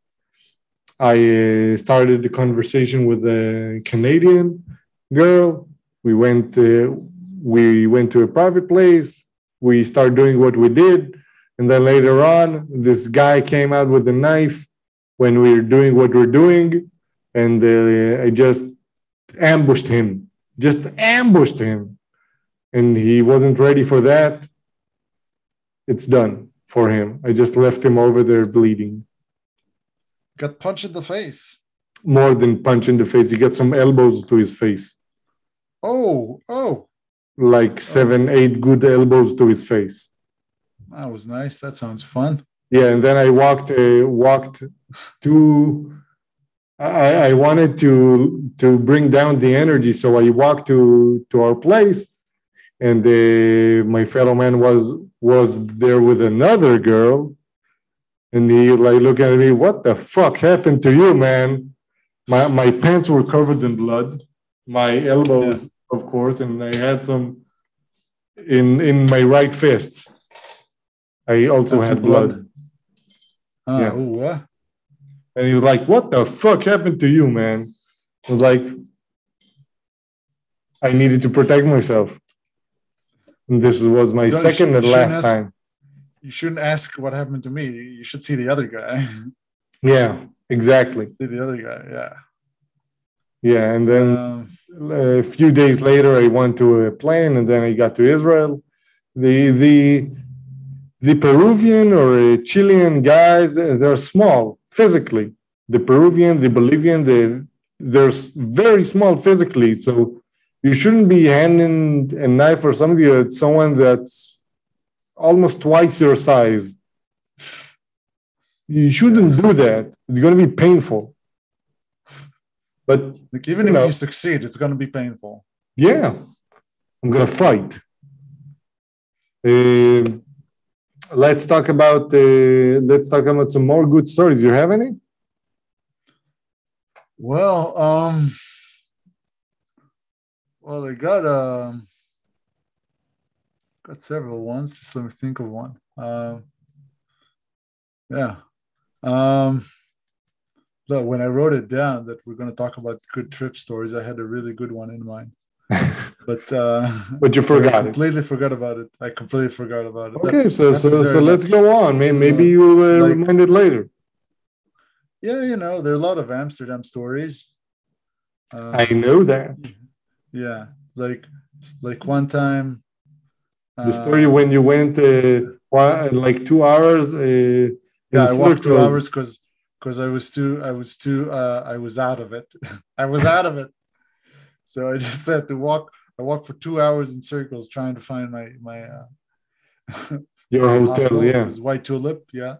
I uh, started the conversation with a Canadian girl. We went uh, we went to a private place. We started doing what we did, and then later on, this guy came out with a knife when we were doing what we're doing, and uh, I just ambushed him, just ambushed him, and he wasn't ready for that. It's done. for him. I just left him over there bleeding.
Got punched in the face.
More than punch in the face. He got some elbows to his face.
Oh, oh.
Like seven, oh. eight good elbows to his face.
That was nice. That sounds fun.
Yeah, and then I walked uh, walked to I, I wanted to to bring down the energy, so I walked to to our place, and uh, my fellow man was was there with another girl, and he like looking at me, what the fuck happened to you, man? My my pants were covered in blood, my elbows, yeah. Of course, and I had some in in my right fist. I also That's had blood. blood.
Oh, yeah. Ooh, what?
And he was like, what the fuck happened to you, man? I was like, I needed to protect myself. And this was my no, second and last ask, time.
You shouldn't ask what happened to me. You should see the other guy.
Yeah, exactly.
See the other guy, yeah.
Yeah, and then um, a few days later, I went to a plane, and then I got to Israel. The, the, The Peruvian or Chilean guys, they're small physically. The Peruvian, the Bolivian, they, they're very small physically. So you shouldn't be handing a knife or something to someone that's almost twice your size. You shouldn't do that. It's going to be painful. But
like even you if know, you succeed, it's going to be painful.
Yeah, I'm going to fight. Uh, Let's talk about uh, let's talk about some more good stories. Do you have any?
Well, um, well, I got um, got several ones. Just let me think of one. Um, yeah. Um, look, when I wrote it down that we're going to talk about good trip stories, I had a really good one in mind. But uh,
but you forgot
I completely it. forgot about it. I completely forgot about it.
Okay,
that,
so so so let's go on. Maybe, maybe you will uh, like, remind it later.
Yeah, you know, there are a lot of Amsterdam stories.
Uh, I know that.
Yeah, like like one time.
The story uh, when you went uh, one, like two hours. Uh,
yeah, I walked two hours because because I was too I was too uh, I was out of it. I was out of it. So I just had to walk. I walked for two hours in circles trying to find my my uh,
your my hotel. Hostel. Yeah,
it was White Tulip. Yeah.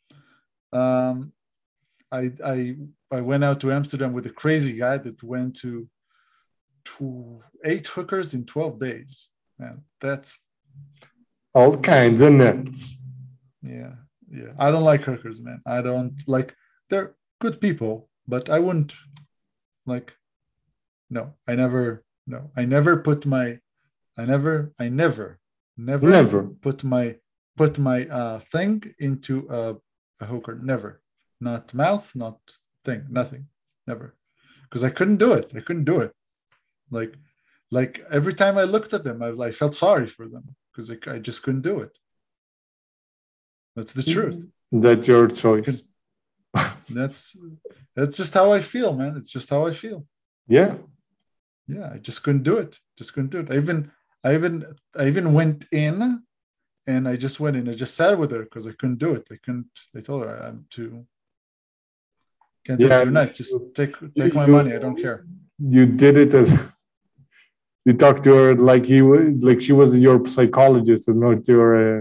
Um, I I I went out to Amsterdam with a crazy guy that went to two, eight hookers in twelve days. Man, that's
all kinds of nuts.
Yeah, yeah. I don't like hookers, man. I don't like. They're good people, but I wouldn't like. No, I never. No, I never put my. I never. I never. Never.
Never
put my put my uh thing into a, a hooker. Never. Not mouth. Not thing. Nothing. Never. Because I couldn't do it. I couldn't do it. Like, like every time I looked at them, I, I felt sorry for them because I, I just couldn't do it. That's the truth.
That's your choice.
That's that's just how I feel, man. It's just how I feel.
Yeah.
Yeah, I just couldn't do it. Just couldn't do it. I even, I even, I even went in, and I just went in. I just sat with her because I couldn't do it. I couldn't. I told her I'm too. Can't do yeah, it too nice. Just take take my you, money. I don't care.
You did it as you talked to her like he was like she was your psychologist and not your. Uh...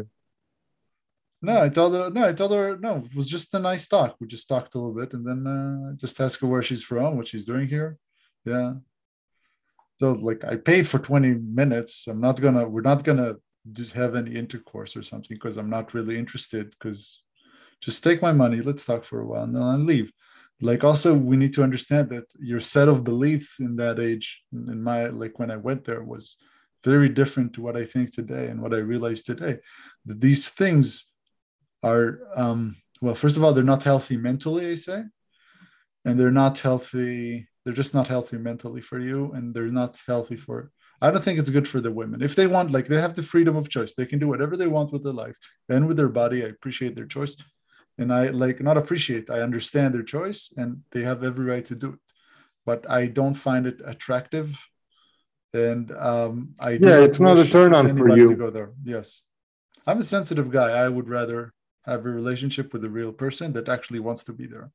No, I told her. No, I told her. No, it was just a nice talk. We just talked a little bit, and then uh, just asked her where she's from, what she's doing here. Yeah. So like I paid for twenty minutes. I'm not gonna. We're not gonna have any intercourse or something because I'm not really interested. Because just take my money. Let's talk for a while, and then I'll leave. Like also, we need to understand that your set of beliefs in that age, in my like when I went there, was very different to what I think today and what I realize today. That these things are um, well, first of all, they're not healthy mentally. I say, and they're not healthy. They're just not healthy mentally for you, and they're not healthy for. I don't think it's good for the women. If they want, like they have the freedom of choice, they can do whatever they want with their life and with their body. I appreciate their choice, and I like not appreciate. I understand their choice, and they have every right to do it. But I don't find it attractive, and um, I
yeah, it's not a turn on for you
to go there. Yes, I'm a sensitive guy. I would rather have a relationship with a real person that actually wants to be there.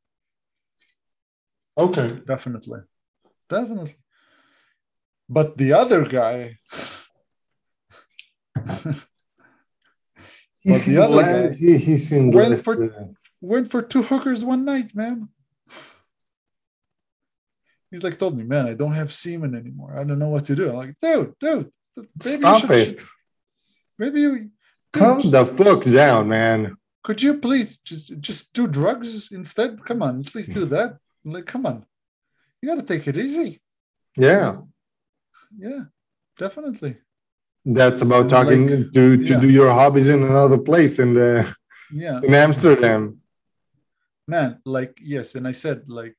Okay.
Definitely. Definitely. But the other guy,
He
but the
seemed
other
less,
guy
he, he seemed
went
less.
for
uh,
went for two hookers one night, man. He's like told me, man, I don't have semen anymore. I don't know what to do. I'm like, dude, dude, maybe you
Stop
should,
it.
maybe you, dude,
Calm
just,
the fuck
just
down, man.
could you please just just do drugs instead? Come on, at least do that. I'm like, come on, you got to take it easy.
Yeah.
Yeah, definitely.
That's about
And
talking
like,
to, to
yeah,
do your hobbies in another place in the
yeah,
in Amsterdam.
man, like, yes. And I said, like,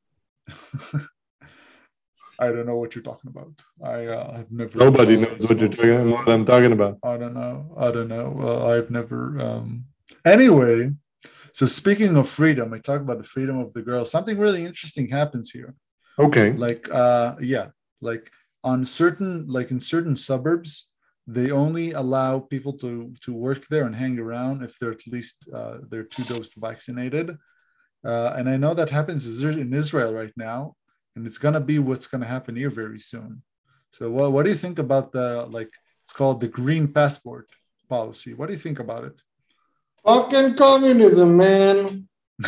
I don't know what you're talking about. I uh, have never
Nobody
uh,
knows what you're
smoked.
talking
Uh,
what I'm talking about.
I don't know. I don't know. Uh, I've never. Um... Anyway, so speaking of freedom, I talk about the freedom of the girl. Something really interesting happens here.
Okay.
Like, uh, yeah, like on certain, like in certain suburbs, they only allow people to to work there and hang around if they're at least uh, they're two dose vaccinated. Uh, and I know that happens in Israel right now, and it's gonna be what's gonna happen here very soon. So, what what do you think about the like? It's called the green passport policy. What do you think about it?
Fucking communism, man.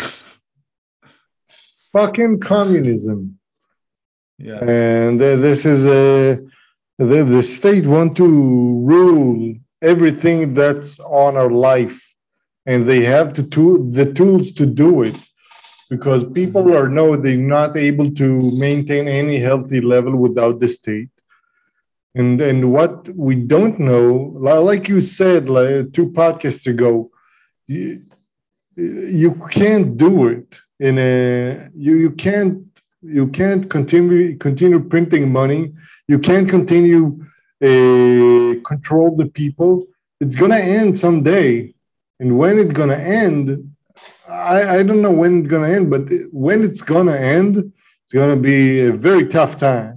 Fucking communism.
Yeah.
And uh, this is a the, the state want to rule everything that's on our life, and they have to tool, the tools to do it, because people are know they're not able to maintain any healthy level without the state. And and what we don't know, like you said, like two podcasts ago, you, you can't do it in a you you can't you can't continue continue printing money. You can't continue uh, control the people. It's gonna end someday, and when it's gonna end, I, I don't know when it's gonna end, but when it's gonna end, it's gonna be a very tough time,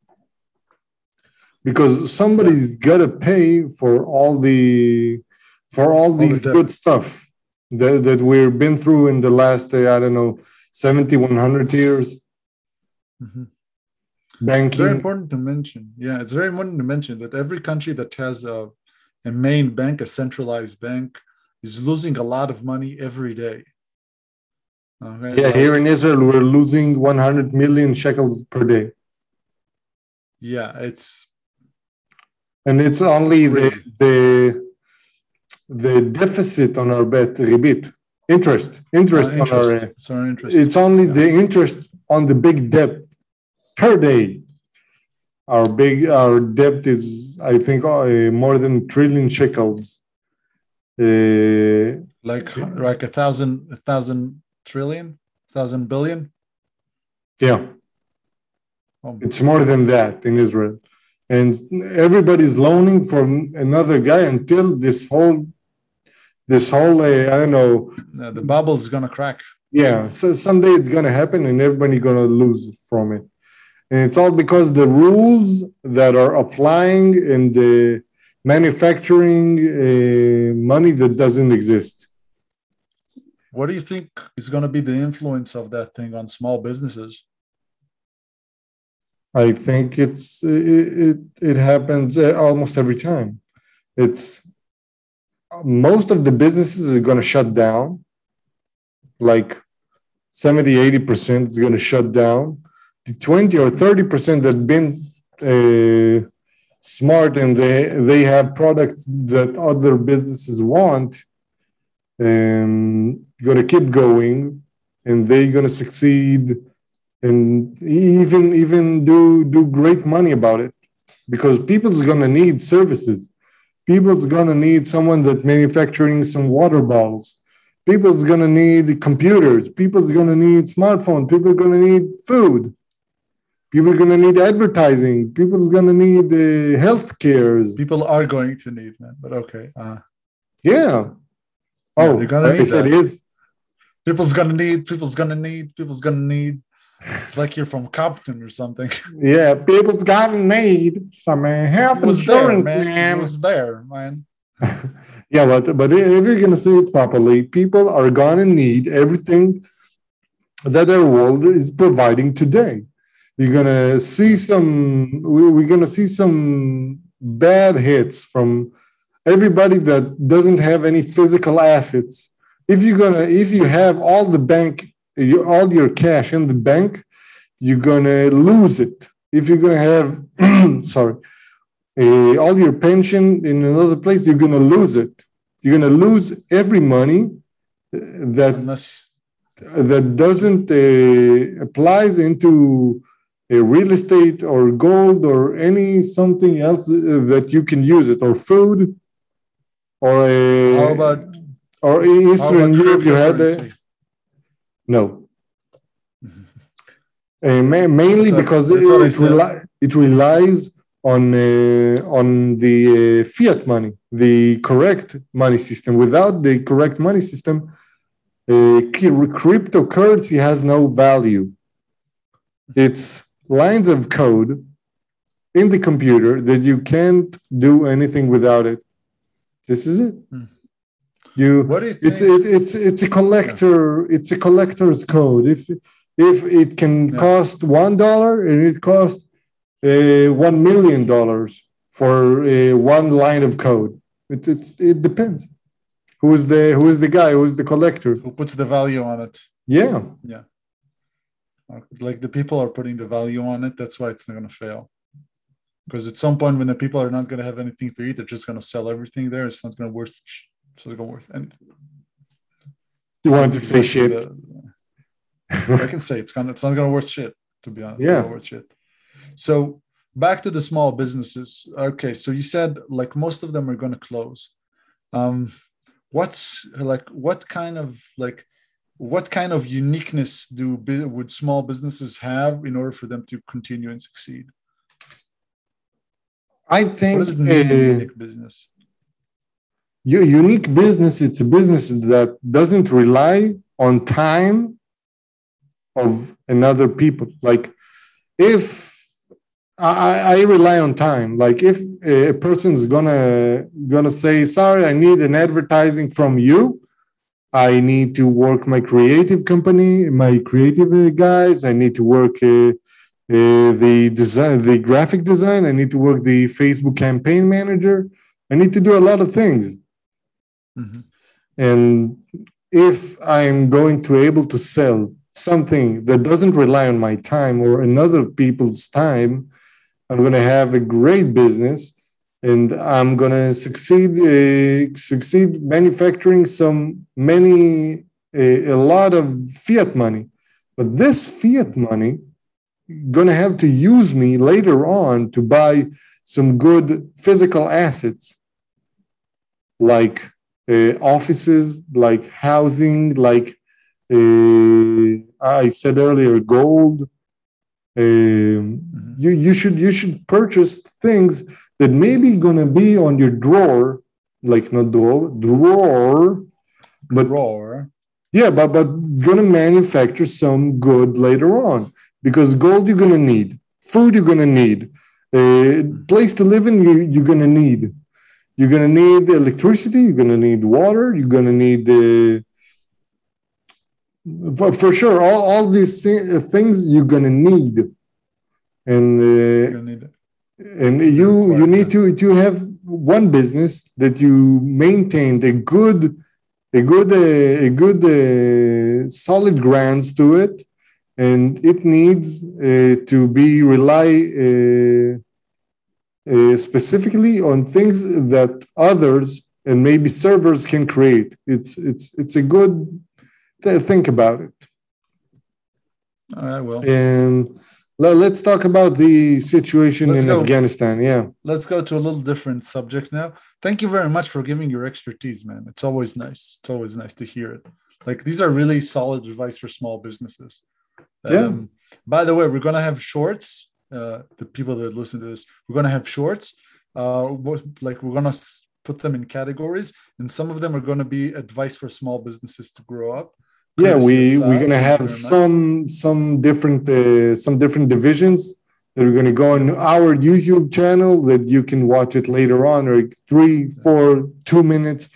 because somebody's yeah. gotta pay for all the for all, all these the good stuff that, that we've been through in the last, uh, I don't know, seventy, one hundred years.
Mm-hmm.
Banking.
It's very important to mention. Yeah, it's very important to mention that every country that has a, a main bank, a centralized bank, is losing a lot of money every day.
Okay, yeah, like, here in Israel, we're losing one hundred million shekels per day.
Yeah, it's...
And it's only the, the the deficit on our bet, ribit, interest, interest, uh, interest. on our,
it's, our interest.
It's only yeah. the interest on the big debt per day. Our big, our debt is, I think, uh, more than a trillion shekels. Uh,
like, like a thousand, a thousand trillion, thousand billion.
Yeah, oh. It's more than that in Israel, and everybody's loaning from another guy until this whole, this whole, uh, I don't know,
uh, the bubble's gonna crack.
Yeah, so someday it's gonna happen, and everybody's gonna lose from it. And it's all because the rules that are applying in the manufacturing uh, money that doesn't exist.
What do you think is going to be the influence of that thing on small businesses?
I think it's it it, it happens almost every time. It's most of the businesses are going to shut down. Like seventy, eighty percent is going to shut down. The twenty or thirty percent that been uh, smart and they, they have products that other businesses want, um, going to keep going, and they're going to succeed and even, even do, do great money about it, because people's going to need services. People's going to need someone that manufacturing some water bottles. People's going to need computers. People's going to need smartphones. People are going to need food. People are going to need advertising. People are going to need uh, health care.
People are going to need, man, but okay. Uh,
yeah.
Oh,
yeah,
they're going to need
I said
that.
Is.
People's going to need, people's going to need, people's going to need. It's like you're from Compton or something.
Yeah, people's got to need some uh, health insurance,
there, man.
man.
It was there, man.
Yeah, but but if you're gonna say it properly, people are gonna need everything that their world is providing today. You're gonna see some. We're gonna see some bad hits from everybody that doesn't have any physical assets. If you're gonna, if you have all the bank, all your cash in the bank, you're gonna lose it. If you're gonna have, sorry, uh, all your pension in another place, you're gonna lose it. You're gonna lose every money that
Unless
that doesn't uh, applies into a real estate or gold or any something else that you can use it, or food, or a,
how about
or in
how
Eastern
about
Europe you had a,
cryptocurrency?
no. Uh, ma- mainly
That's what,
because
that's what I
it,
said.
reli- it relies on uh, on the uh, fiat money, the correct money system. Without the correct money system, uh, cryptocurrency has no value. It's lines of code in the computer that you can't do anything without it. This is it.
Hmm.
You,
What do you
it's
think?
it, it's it's a collector. Yeah. It's a collector's code. If if it can
Yeah.
cost one dollar and it costs uh, one million dollars for uh, one line of code, it, it it depends. Who is the who is the guy? Who is the collector?
Who puts the value on it?
Yeah.
Yeah. Like the people are putting the value on it. That's why it's not going to fail. Because at some point, when the people are not going to have anything to eat, they're just going to sell everything there. It's not going to worth. It's not going to worth anything.
You want to say shit?
The, I can say it's gonna. It's not going to worth shit. To be honest,
yeah.
It's not worth shit. So back to the small businesses. Okay, so you said like most of them are going to close. Um, what's like what kind of like what kind of uniqueness do would small businesses have in order for them to continue and succeed?
I think
what does it mean, uh, unique business?
Your unique business, it's a business that doesn't rely on time of another people. Like if I, I rely on time, like if a person's gonna gonna say, sorry, I need an advertising from you. I need to work my creative company, my creative guys. I need to work uh, uh, the design, the graphic design. I need to work the Facebook campaign manager. I need to do a lot of things. Mm-hmm. And if I'm going to be able to sell something that doesn't rely on my time or another people's time, I'm going to have a great business. And I'm gonna succeed. Uh, succeed manufacturing some many uh, a lot of fiat money, but this fiat money gonna have to use me later on to buy some good physical assets, like uh, offices, like housing, like uh, I said earlier, gold. Um, mm-hmm. You you should you should purchase things that maybe gonna be on your drawer, like not drawer, drawer, but
drawer.
Yeah, but but gonna manufacture some good later on, because gold you're gonna need, food you're gonna need, a place to live in you you're gonna need, you're gonna need electricity, you're gonna need water, you're gonna need uh, for, for sure all all these things you're gonna need, and. Uh, you're gonna need it. And you you need to to have one business that you maintained a good a good uh, a good uh, solid grounds to it, and it needs uh, to be rely uh, uh, specifically on things that others and maybe servers can create. It's it's it's a good th- think about it.
I will.
And let's talk about the situation let's in go. Afghanistan. Yeah.
Let's go to a little different subject now. Thank you very much for giving your expertise, man. It's always nice. It's always nice to hear it. Like these are really solid advice for small businesses.
Yeah.
Um, by the way, we're going to have shorts. Uh, the people that listen to this, we're going to have shorts. Uh, like we're going to put them in categories, and some of them are going to be advice for small businesses to grow up.
Yeah, we we're gonna have some some different uh, some different divisions that are going to go on our YouTube channel that you can watch it later on, or three, four, two minutes,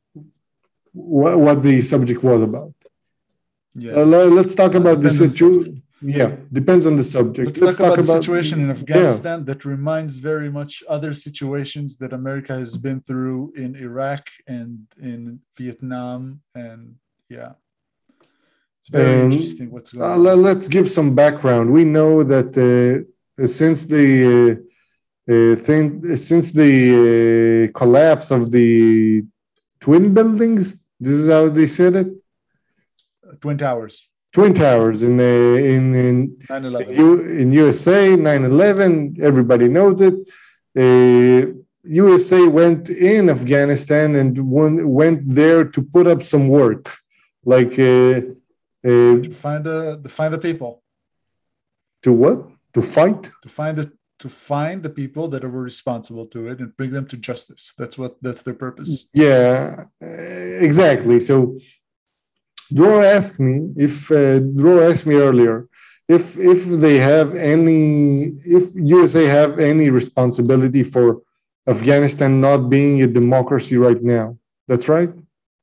what, what the subject was about.
Yeah.
Uh, let, let's talk about the
Depends on the
situation. Yeah, depends on the subject.
Let's,
Let's
talk,
talk
about the
about
situation in
yeah.
Afghanistan that reminds very much other situations that America has been through in Iraq and in Vietnam. And yeah, it's very
Um,
interesting what's going
uh,
on.
let, let's give some background. We know that uh, since the uh, uh, thing, since the uh, collapse of the twin buildings, this is how they said it.
Twin Towers.
Twin Towers in uh, in in
nine eleven.
U, in U S A, nine eleven. Everybody knows it. Uh, U S A went in Afghanistan and one, went there to put up some work, like uh, uh,
to find the to find the people.
To what? To fight?
To find the to find the people that were responsible to it and bring them to justice. That's what that's their purpose.
Yeah, uh, exactly. So. Dror asked me if uh, Dror asked me earlier if if they have any if U S A have any responsibility for Afghanistan not being a democracy right now. That's right.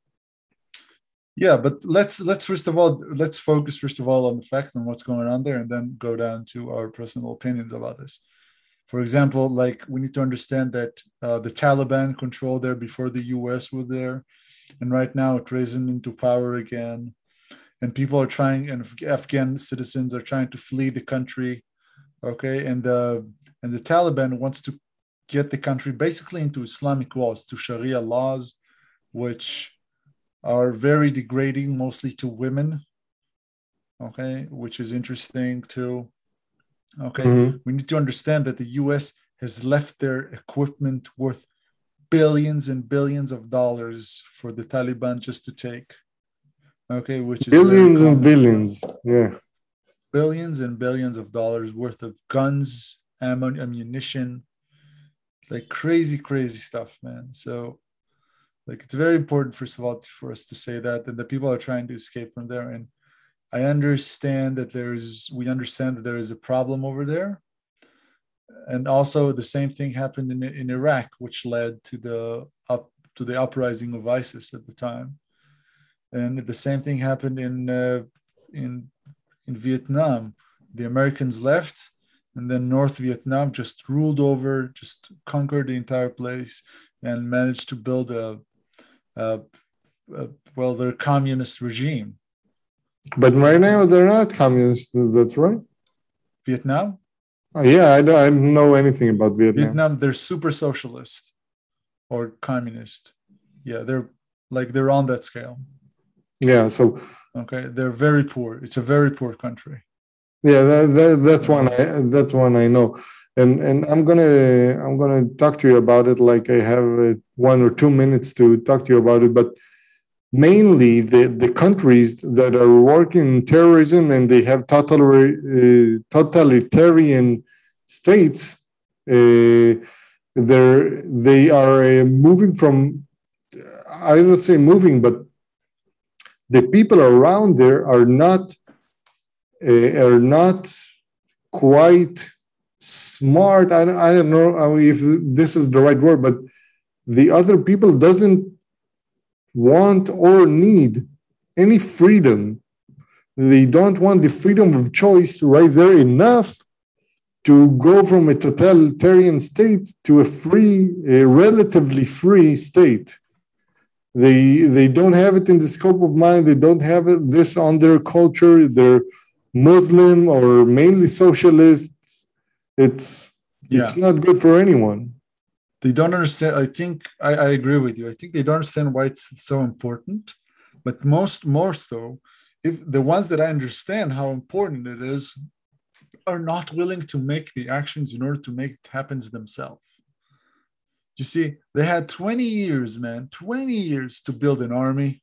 Yeah, but let's let's first of all let's focus first of all on the fact and what's going on there, and then go down to our personal opinions about this. For example, like we need to understand that uh, the Taliban controlled there before the U S was there. And right now it's risen into power again. And people are trying, and Afghan citizens are trying to flee the country. Okay. And the, and the Taliban wants to get the country basically into Islamic laws, to Sharia laws, which are very degrading, mostly to women. Okay. Which is interesting too. Okay. Mm-hmm. We need to understand that the U S has left their equipment worth billions and billions of dollars for the Taliban just to take. Okay, which is
billions and billions. Yeah.
Billions and billions of dollars worth of guns, ammo, ammunition. It's like crazy, crazy stuff, man. So, like, it's very important, first of all, for us to say that, and the people are trying to escape from there. And I understand that there is, we understand that there is a problem over there. And also the same thing happened in, in Iraq, which led to the up to the uprising of ISIS at the time. And the same thing happened in uh, in in Vietnam. The Americans left, and then North Vietnam just ruled over, just conquered the entire place, and managed to build a, a, a well, their communist regime.
But right now they're not communist. That's right.
Vietnam.
Oh, yeah, I don't, I don't know anything about Vietnam.
Vietnam, they're super socialist or communist. Yeah, they're like they're on that scale.
Yeah, so
okay, they're very poor. It's a very poor country.
Yeah, that, that, that's one. I, that's one I know, and and I'm gonna I'm gonna talk to you about it. Like I have uh, one or two minutes to talk to you about it, but mainly the the countries that are working in terrorism and they have total, uh, totalitarian states, uh, they're they are uh, moving from. I don't say moving, but the people around there are not uh, are not quite smart. I don't, I don't know if this is the right word, but the other people doesn't want or need any freedom. They don't want the freedom of choice right there enough to go from a totalitarian state to a free, a relatively free state. They they don't have it in the scope of mind. They don't have it, this on their culture. They're Muslim or mainly socialists. It's yeah. It's not good for anyone.
They don't understand. I think I, I agree with you. I think they don't understand why it's so important. But most more so, if the ones that I understand how important it is are not willing to make the actions in order to make it happen themselves. You see, they had twenty years, man, twenty years to build an army.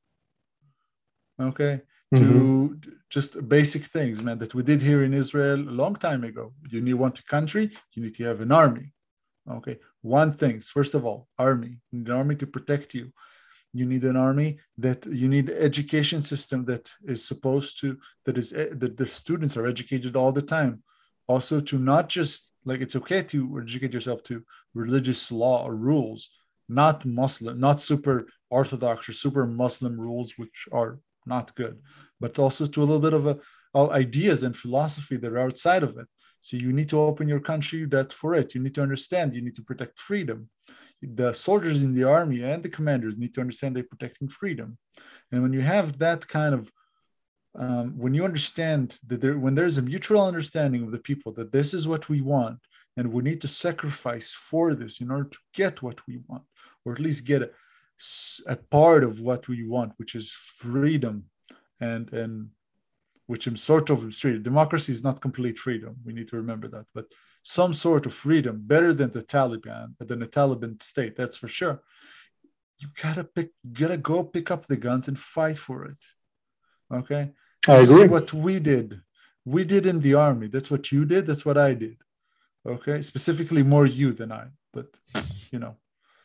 Okay. Mm-hmm. To just basic things, man, that we did here in Israel a long time ago. You need want a country, you need to have an army. Okay. One thing, first of all, army. You need an army to protect you. You need an army that you need the education system that is supposed to, that is, that the students are educated all the time. also to not just like it's okay to educate yourself to religious law or rules, not Muslim, not super Orthodox or super Muslim rules, which are not good, but also to a little bit of a, of ideas and philosophy that are outside of it. So you need to open your country that for it. You need to understand. You need to protect freedom. The soldiers in the army and the commanders need to understand they're protecting freedom. And when you have that kind of Um, when you understand that there, when there's a mutual understanding of the people that this is what we want, and we need to sacrifice for this in order to get what we want, or at least get a, a part of what we want, which is freedom, and and which is sort of freedom. Democracy is not complete freedom. We need to remember that, but some sort of freedom, better than the Taliban, than the Taliban state. That's for sure. You gotta pick, gotta go pick up the guns and fight for it. Okay.
I
This
agree.
is what we did. We did in the army. That's what you did. That's what I did. Okay. Specifically more you than I, but you know.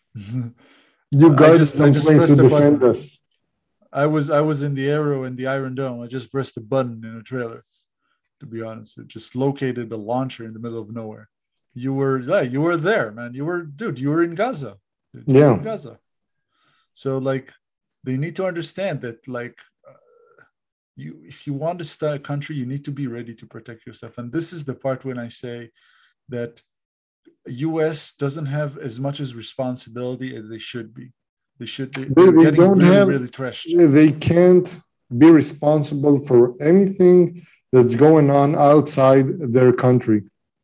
You
I
guarded
just I
some
just
place
pressed
to
the
defend
button.
us.
I was I was in the Arrow and the Iron Dome. I just pressed the button in a trailer, to be honest. It just located a launcher in the middle of nowhere. You were yeah, you were there, man. You were dude, you were in Gaza. Dude, you
Yeah.
were in Gaza. So like they need to understand that like You, if you want to start a country, you need to be ready to protect yourself. And this is the part when I say that U S doesn't have as much as responsibility as they should be. They should be
They,
they're
they
getting
don't
really,
have,
really trashed.
they can't be responsible for anything that's going on outside their country.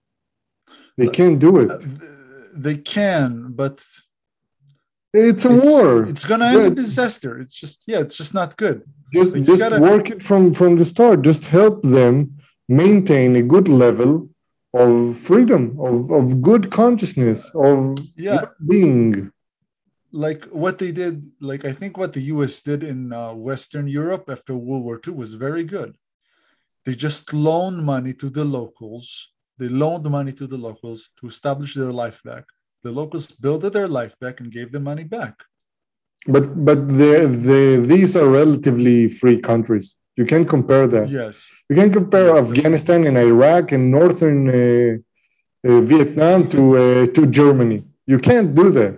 They can't do it.
Uh, They can, but
It's a
it's
war.
it's gonna end
Yeah,
in disaster. It's just yeah, it's just not good.
just
Like you
just
gotta
work it from from the start. Just help them maintain a good level of freedom, of of good consciousness, of
yeah,
being.
like what they did, like I think what the U S did in uh, Western Europe after World War Two was very good. They just loaned money to the locals. They loaned money to the locals to establish their life back. The locals built their life back and gave the money back.
But but the the these are relatively free countries. You can't compare that.
Yes.
You can compare
Yes,
Afghanistan and Iraq and northern uh, uh, Vietnam to uh, to Germany. You can't do that.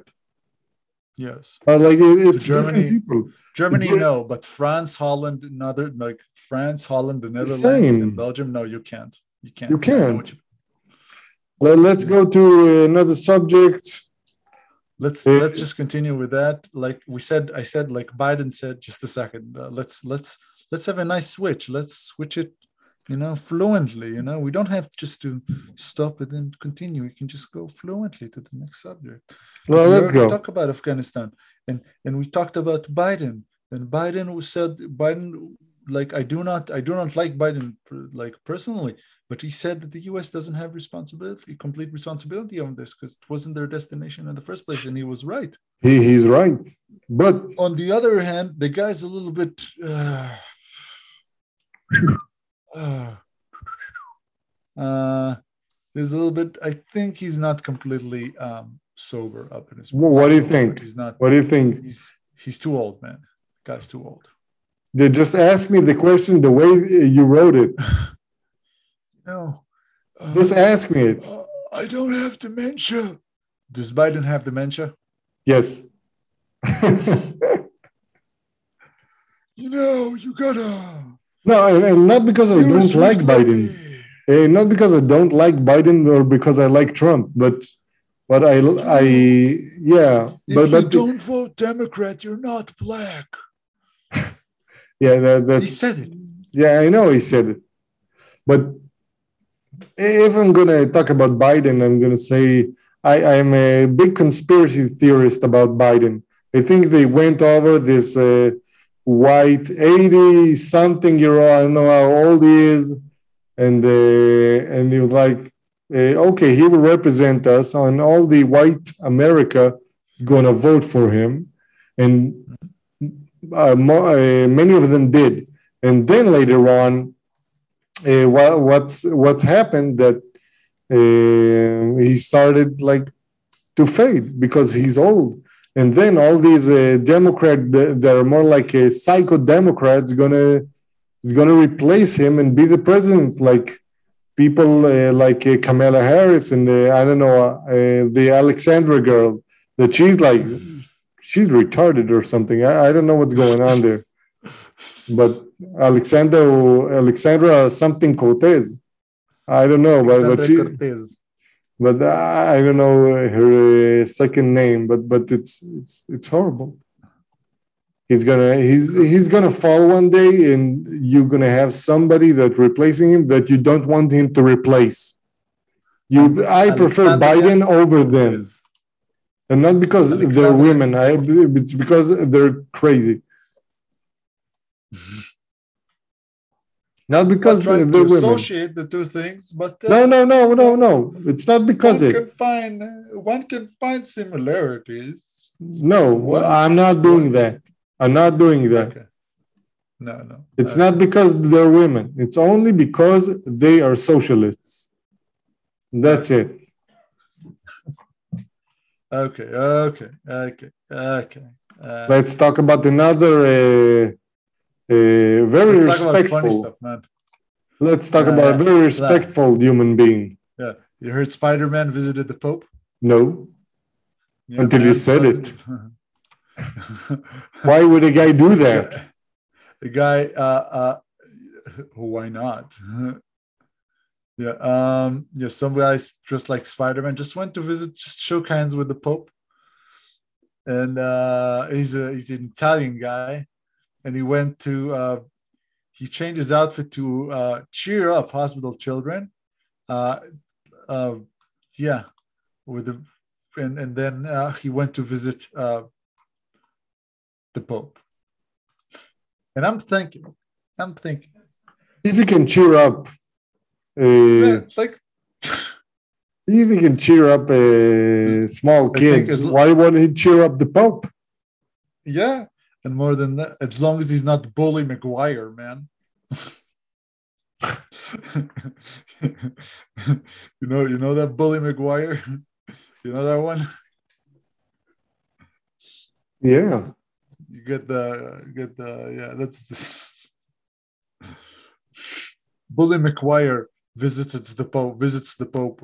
Yes.
Uh, like it, it's
To
different
Germany,
people.
Germany,
Ge-
no, but France, Holland, another like France, Holland, the Netherlands, and
Same.
Belgium, no, you can't. You can't.
You
Yeah, I know what
can't.
you.
Let, let's
Yeah.
go to another subject.
Let's
Uh,
let's just continue with that. Like we said, I said, like Biden said, just a second. Uh, let's let's let's have a nice switch. Let's switch it, you know, fluently. You know, we don't have just to stop it and continue. We can just go fluently to the next subject. Because
well,
we
let's
already
go.
talked about Afghanistan, and and we talked about Biden. And Biden said Biden like I do not I do not like Biden like personally, but he said that the U S doesn't have responsibility, complete responsibility on this because it wasn't their destination in the first place, and he was right.
He, he's right. But
On the other hand, the guy's a little bit uh, uh, uh, he's a little bit. I think he's not completely um, sober up in his.
wh- what do you
sober,
think?
He's not.
What do you think?
He's he's too old, man. The guy's too old.
They just ask me the question the way you wrote it.
No. Uh,
Just ask me it.
uh, I don't have dementia. Does Biden have dementia?
Yes.
You know, you gotta.
No, and, and not because I don't like Biden. Uh, not because I don't like Biden or because I like Trump, but but I I yeah.
If
But
you
but
don't vote Democrat, you're not black.
yeah, that, that's
He said it.
Yeah, I know he said it. But if I'm gonna talk about Biden, I'm gonna say I, I'm a big conspiracy theorist about Biden. I think they went over this uh, white eighty-something year old. I don't know how old he is, and uh, and he was like, uh, okay, he will represent us, and all the white America is gonna vote for him, and uh, mo- uh, many of them did. And then later on, uh, what, what's what's happened that uh, he started like to fade because he's old, and then all these uh, Democrats that, that are more like a psycho Democrats gonna is gonna replace him and be the president. Like people uh, like uh, Kamala Harris and uh, I don't know uh, the Alexandra girl that she's like she's retarded or something. I, I don't know what's going on there. But Alexandra Alexandra something Cortez. I don't know, but but she,
Cortez.
but I don't know her uh, second name. But but it's it's it's horrible. He's gonna he's he's gonna fall one day, and you're gonna have somebody that replacing him that you don't want him to replace. You, I prefer
Alexandria
Biden over them,
Cortez.
and not because they're
Alexandria.
women. I it's because they're crazy. Not because
I'm trying
they're
to
women.
associate the two things, but uh,
No, no, no, no, no. It's not because
one
it.
can find one can find similarities.
No,
One,
I'm not doing
one-
that. I'm not doing that.
Okay. No, no.
It's
Okay.
not because they're women. It's only because they are socialists. That's it.
Okay, okay, okay, okay. Uh,
Let's talk about another uh, uh, very
let's talk about funny
respectful.
stuff, man.
Let's talk
Yeah,
about
yeah.
a very respectful human being.
Yeah, you heard Spider-Man visited the Pope?
No,
Yeah,
until you
man,
said
plus-
it. Why would a guy do that?
The guy, uh, uh, why not? Yeah, um, yeah, some guys dressed like Spider-Man just went to visit, just shook hands with the Pope. And uh, he's a he's an Italian guy, and he went to uh, he changed his outfit to uh, cheer up hospital children. Uh, uh, yeah, with the and and then uh, he went to visit uh, the Pope. And I'm thinking, I'm thinking,
If you can cheer up, uh,
yeah, like,
if you can cheer up uh, small
I think
kids,
as l-
why won't he cheer up the Pope?
yeah, and more than that, as long as he's not Bully McGuire, man. you know, you know that Bully McGuire. You know that one.
Yeah.
You get the you get the yeah. That's Bully McGuire visits the Pope. Visits the Pope.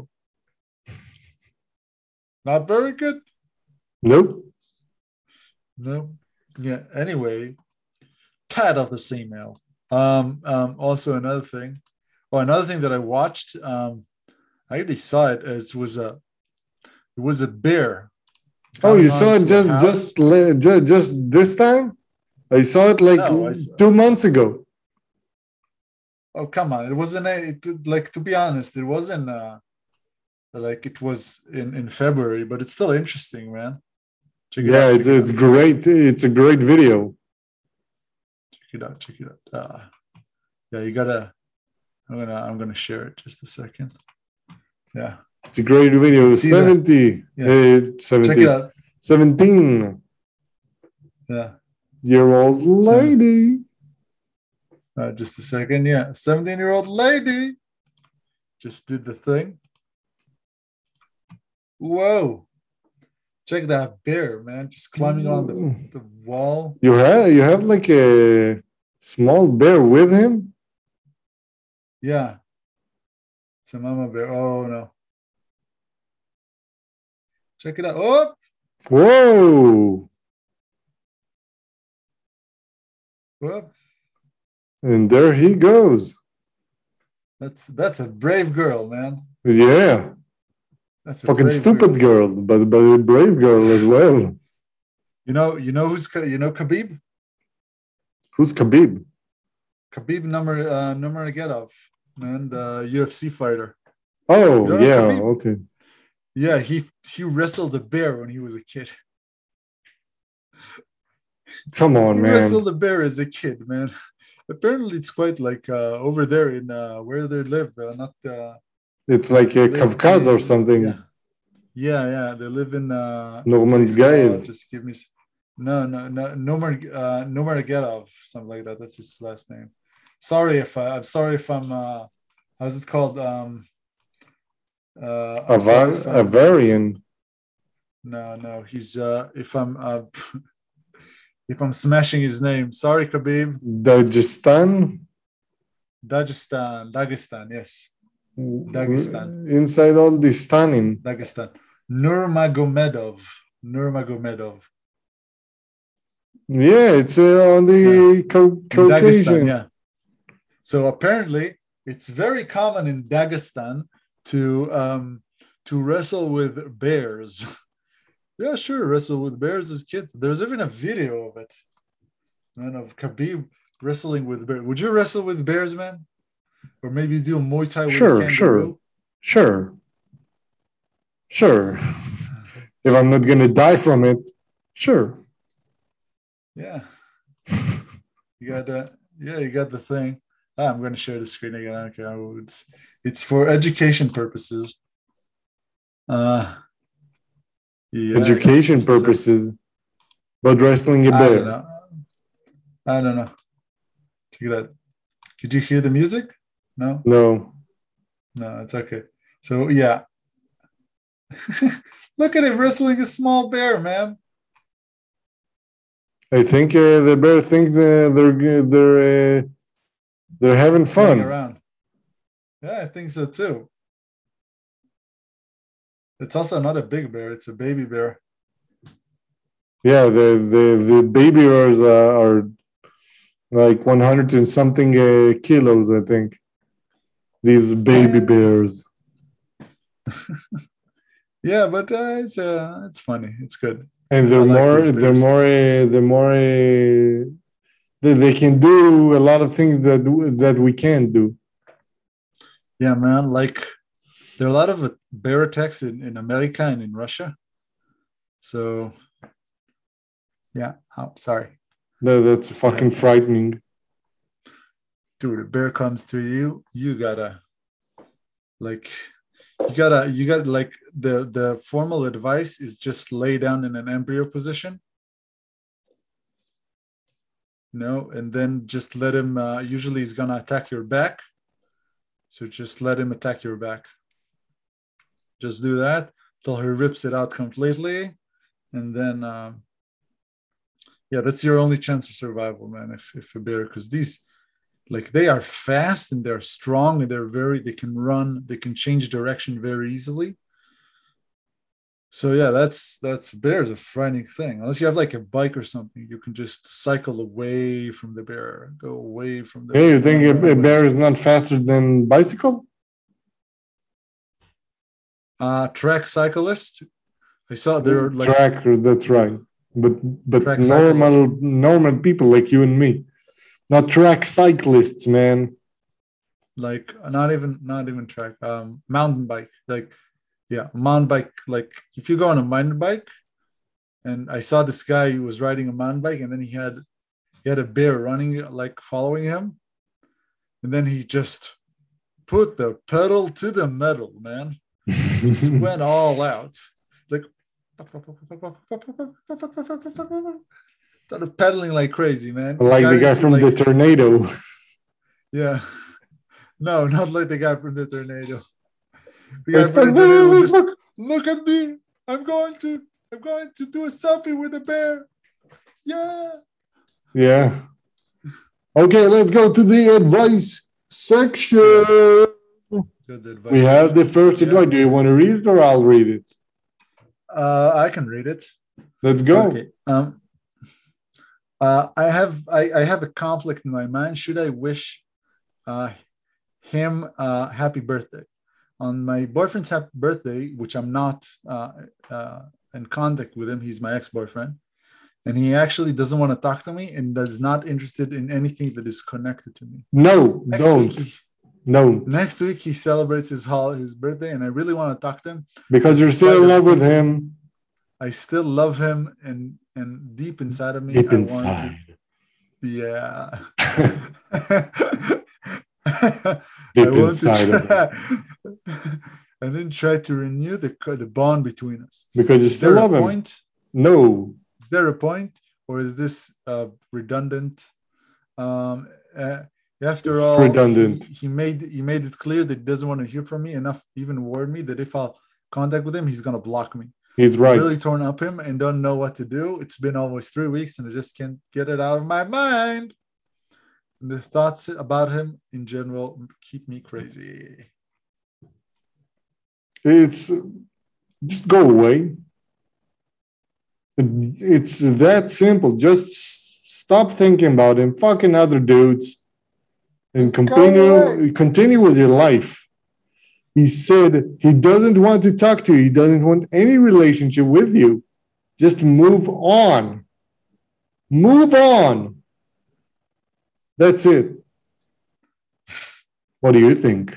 Not very good.
Nope.
No. Yeah. Anyway, tad of the same ale. Um, um, also another thing. Oh, another thing that I watched. Um, I already saw it. It was a it was a bear.
Oh, you
coming
saw it
onto a
just
house.
just le- ju- just this time? I saw it like
No, I saw-
two months ago.
Oh, come on. It wasn't a, it, like, to be honest, it wasn't uh like it was in in February, but it's still interesting, man. Check it
Yeah,
out.
it's
check it
it's
out.
great. It's a great video.
Check it out. Check it out. Uh, yeah, you gotta. I'm gonna. I'm gonna share it. Just a second. Yeah.
It's a great video.
See that?
seventy,
Yeah.
uh,
Check
seventy,
it out.
seventeen
Yeah.
year old lady.
Uh, just a second. Yeah. seventeen year old lady just did the thing. Whoa. Check that bear, man. Just climbing on the, the wall.
You have you have like a small bear with him.
Yeah. It's a mama bear. Oh, no. Check it out. Oh,
Whoa!
oh.
And there he goes.
That's that's a brave girl, man.
Yeah,
That's a
fucking
brave
stupid girl, but but a brave girl as well.
You know, you know who's Ka- you know Khabib?
Who's Khabib?
Khabib Number uh Nurmagomedov, man, the U F C fighter.
Oh
You don't know
yeah,
Khabib?
okay.
Yeah, he he wrestled a bear when he was a kid.
Come on,
He
man.
wrestled a bear as a kid, man. Apparently, it's quite like uh, over there in uh, where they live, uh, not uh,
It's like a
live
Kavkaz or
in-
something.
Yeah. yeah, yeah, they live in uh,
Norman
place called-
Gaev.
Just give me. s- No, no, no, Nomar, uh, Nomargadov, something like that. That's his last name. Sorry if I, I'm sorry if I'm. Uh, how's it called? Um, uh,
A,
I'm sorry
va-
if
a
I'm-
varian.
No, no, he's. Uh, if I'm. Uh, if I'm smashing his name, sorry, Khabib.
Dagestan.
Dagestan, Dagestan, yes. Dagestan.
Inside all this Stanim.
Dagestan. Nurmagomedov. Nurmagomedov.
Yeah, it's uh, on the
Yeah.
Cau-
In Dagestan,
Caucasian.
yeah. So apparently, it's very common in Dagestan to um, to wrestle with bears. Yeah, sure, wrestle with bears as kids. There's even a video of it, man, of Khabib wrestling with bears. Would you wrestle with bears, man? Or maybe do a Muay Thai with a
Sure,
kangaroo?
sure, sure, sure. If I'm not gonna die from it, sure.
Yeah. You got uh, yeah, you got the thing. Ah, I'm going to share the screen again. I don't care. It's, it's for education purposes. Uh, yeah,
Education
yeah.
purposes, but wrestling a
I
bear.
don't know. I don't know. Check it out. Did you hear the music? No?
No.
No, it's okay. So, yeah. Look at him wrestling a small bear, man.
I think uh, the bear thinks uh, they're they're uh, they're having
Playing
fun.
around. Yeah, I think so too. It's also not a big bear; it's a baby bear.
Yeah, the the the baby bears uh, are like one hundred and something uh, kilos, I think. These baby
Yeah.
bears.
Yeah, but uh, it's uh, it's funny. It's good.
And they're
like
more,
these
they're
bears.
more, uh, they're more. Uh, they, they can do a lot of things that that we can't do.
Yeah, man. Like there are a lot of uh, bear attacks in, in America and in Russia. So, yeah. Oh, sorry.
That, that's fucking
Yeah.
frightening.
Dude, a bear comes to you, you gotta like you gotta you gotta like the the formal advice is just lay down in an embryo position. No, and then just let him uh, usually he's gonna attack your back. So just let him attack your back. Just do that till he rips it out completely. And then um, yeah, that's your only chance of survival, man, if if a bear, because these like they are fast and they're strong and they're very they can run, they can change direction very easily. So yeah, that's that's bear is a frightening thing. Unless you have like a bike or something, you can just cycle away from the bear, go away from the
Hey,
bear.
you think a, a bear is not faster than bicycle?
Uh track cyclist. I saw they're like
track, that's right. But but
Track
normal
cyclists.
normal people like you and me. Not track cyclists, man.
like not even not even track, um mountain bike. Like yeah, mountain bike. Like if you go on a mountain bike, and I saw this guy who was riding a mountain bike, and then he had he had a bear running, like following him, and then he just put the pedal to the metal, man. Just went all out, like started pedaling like crazy, man.
Like
Got
the guy
into,
from
like,
the tornado.
yeah, no, not like the guy from the tornado. The guy
Like,
from the tornado would just look at me. I'm going to I'm going to do a selfie with a bear. Yeah.
Yeah. Okay, let's go to the advice section.
Good advice.
We have the first
Yeah.
advice. Do you want to read it or I'll read it?
Uh, I can read it.
Let's go.
Okay. Um, uh, I have I, I have a conflict in my mind. Should I wish uh, him uh, happy birthday on my boyfriend's happy birthday, which I'm not uh, uh, in contact with him. He's my ex-boyfriend, and he actually doesn't want to talk to me and is not interested in anything that is connected to me.
No,
Next
don't.
week he,
no.
Next week he celebrates his hol- his birthday, and I really want to talk to him
because you're still in love with him.
I still love him, and and deep inside of me,
deep
I
inside.
want to, yeah.
deep
I want
inside
to
of
try, and then try to renew the the bond between us.
Because you
is
still
there
love
a
him.
Point?
No.
Is there a point, or is this uh, redundant? Um, uh, after
it's
all,
redundant.
He, he made he made it clear that he doesn't want to hear from me enough. Even warned me that if I'll contact with him, he's gonna block me.
He's right.
I'm really torn up him and don't know what to do. It's been almost three weeks and I just can't get it out of my mind. And the thoughts about him in general keep me crazy.
It's just go away. It's that simple. Just stop thinking about him, fucking other dudes, and continue continue with your life. He said he doesn't want to talk to you. He doesn't want any relationship with you. Just move on. Move on. That's it. What do you think?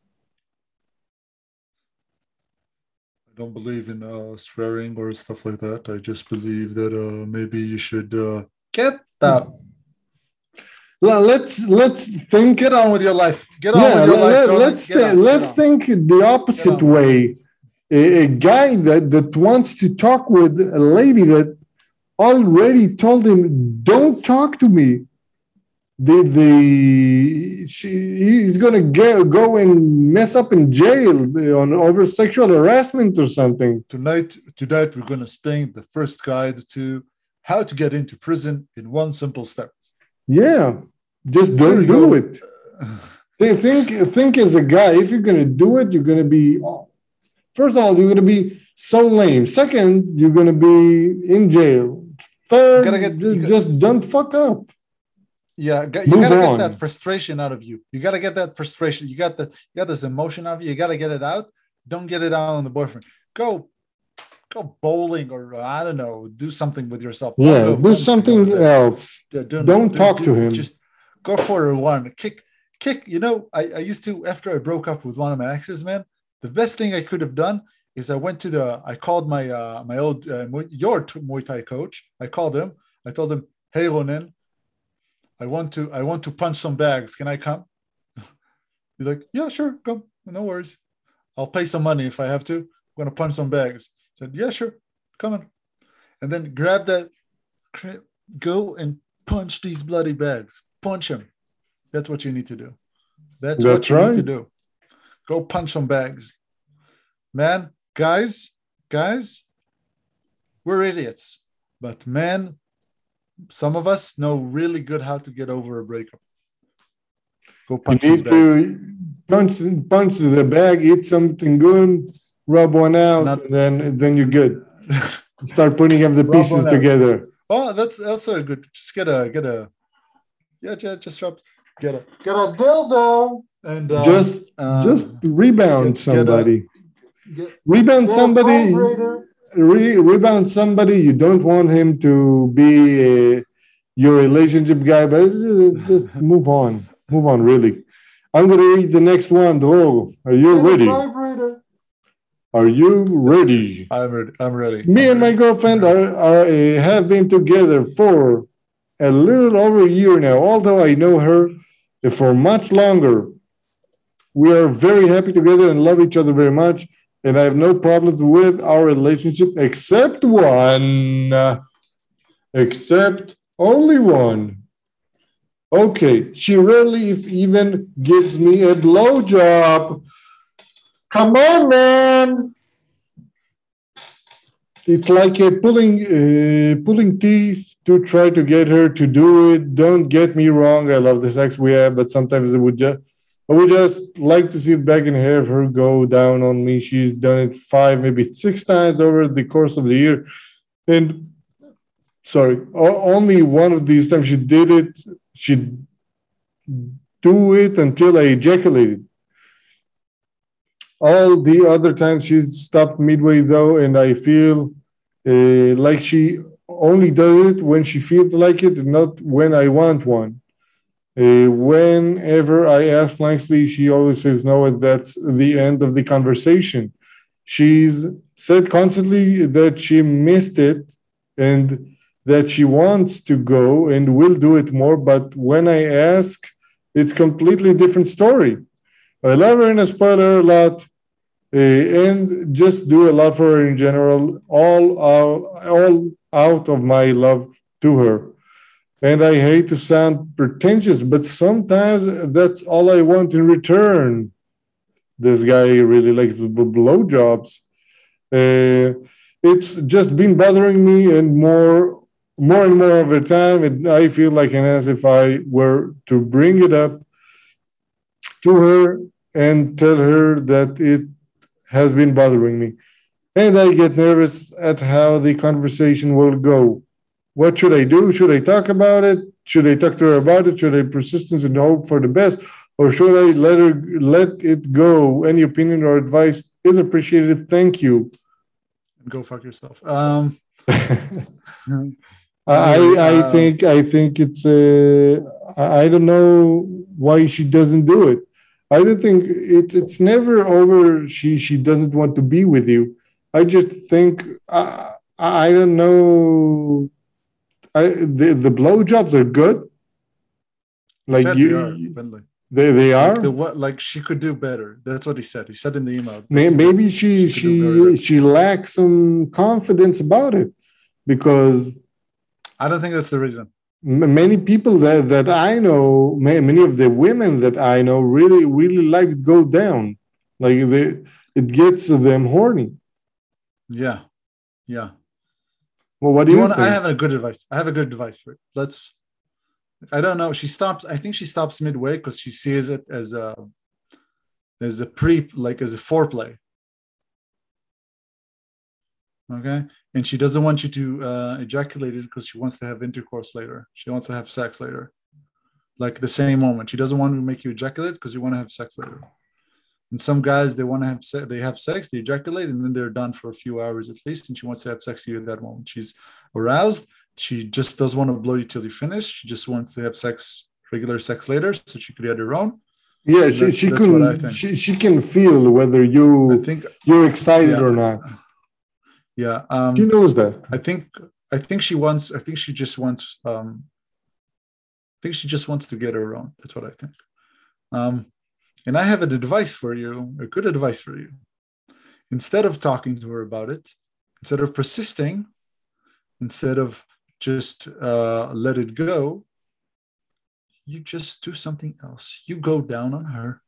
I don't believe in uh, swearing or stuff like that. I just believe that uh, maybe you should uh, get that.
Well, let's let's think.
Get on with your life. Get on
yeah,
with your
let,
life.
Let's
th-
on, let's think the opposite way. A, a guy that that wants to talk with a lady that already told him, "Don't talk to me." The the she, he's gonna get, go and mess up in jail on over sexual harassment or something.
Tonight, tonight we're gonna explain the first guide to how to get into prison in one simple step.
Yeah, just don't do it. They think think as a guy, if you're gonna do it, you're gonna be first of all, you're gonna be so lame. Second, you're gonna be in jail. Third, get, just, gotta, just don't fuck up.
Yeah, you Move gotta on. Get that frustration out of you. You gotta get that frustration. You got the you got this emotion out of you. You gotta get it out. Don't get it out on the boyfriend. Go, go bowling or I don't know. Do something with yourself.
Yeah, go, do something else. Don't, don't, don't talk do, to him.
Just go for a run. Kick, kick. You know, I, I used to after I broke up with one of my exes, man. The best thing I could have done is I went to the. I called my uh, my old uh, your Muay Thai coach. I called him. I told him, "Hey, Ronen, I want to I want to punch some bags. Can I come?" He's like, "Yeah, sure, come. No worries. I'll pay some money if I have to. I'm gonna punch some bags." I said, "Yeah, sure, come on." And then grab that, go and punch these bloody bags. Punch them. That's what you need to do. That's, That's what you right. need to do. Go punch some bags. Man, guys, guys, we're idiots. But man, some of us know really good how to get over a breakup. Go punch
you need to punch, punch the bag, eat something good, rub one out, Not, and then then you're good. Start putting up the pieces together.
Oh, that's also good. Just get a get a yeah, just, just drop get a get a dildo and um,
just uh, just rebound get, somebody. Get a, get, rebound get somebody. Re, rebound somebody. You don't want him to be a, your relationship guy, but just move on. Move on, really. I'm going to read the next one. Oh, are you ready? Are you ready?
I'm ready. I'm ready.
Me
I'm
and
ready.
my girlfriend are, are uh, have been together for a little over a year now, although I know her for much longer. We are very happy together and love each other very much, and I have no problems with our relationship except one. Uh, except only one. Okay, she rarely if even gives me a blowjob. Come on, man. It's like a pulling uh, pulling teeth to try to get her to do it. Don't get me wrong. I love the sex we have, but sometimes it would just, I would just like to sit back and have her go down on me. She's done it five, maybe six times over the course of the year. And sorry, only one of these times she did it. She'd do it until I ejaculated. All the other times she stopped midway though, and I feel uh, like she only does it when she feels like it, not when I want one. Uh, whenever I ask nicely, she always says no, and that's the end of the conversation. She's said constantly that she missed it and that she wants to go and will do it more, but when I ask, it's completely different story. I love her and I spoil her a lot, uh, and just do a lot for her in general, all out, all out of my love to her. And I hate to sound pretentious, but sometimes that's all I want in return. This guy really likes blowjobs. Uh, it's just been bothering me, and more, more and more of the time, and I feel like an ass if I were to bring it up to her and tell her that it has been bothering me, and I get nervous at how the conversation will go. What should I do? Should I talk about it? Should I talk to her about it? Should I persistence and hope for the best? Or should I let her let it go? Any opinion or advice is appreciated. Thank you.
Go fuck yourself. Um,
I I
uh,
think I think it's uh, I I don't know why she doesn't do it. I don't think it's it's never over. She she doesn't want to be with you. I just think I I don't know. I the the blowjobs are good.
he
Like
said
you,
they are, Bentley.
they they are.
Like the what? Like she could do better. That's what he said. He said in the email. that-
May-
that
Maybe she
she could do very
she
better.
she lacks some confidence about it because
I don't think that's the reason.
m- many people that that I know, ma- many of the women that I know, really really like to go down. Like they, it gets them horny.
Yeah, yeah.
Well, what do
You
you
want? I
think?
have a good advice. I have a good advice for it. Let's. I don't know. She stops. I think she stops midway because she sees it as a as a pre, like as a foreplay. Okay, and she doesn't want you to uh, ejaculate it because she wants to have intercourse later. She wants to have sex later, like the same moment. She doesn't want to make you ejaculate because you want to have sex later. And some guys, they want to have sex, they have sex, they ejaculate, and then they're done for a few hours at least. And she wants to have sex with you at that moment. She's aroused. She just doesn't want to blow you till you finish. She just wants to have sex, regular sex later, so she could get her own.
Yeah,
And
she
that's,
she
that's what I
can
think.
she she can feel whether
I
you
think,
you're excited
yeah,
or not.
yeah.
She
Um,
knows that.
I think, I think she wants. I think she just wants. Um, I think she just wants to get her own. That's what I think. Um, and I have an advice for you, a good advice for you. Instead of talking to her about it, instead of persisting, instead of just uh, let it go, you just do something else. You go down on her.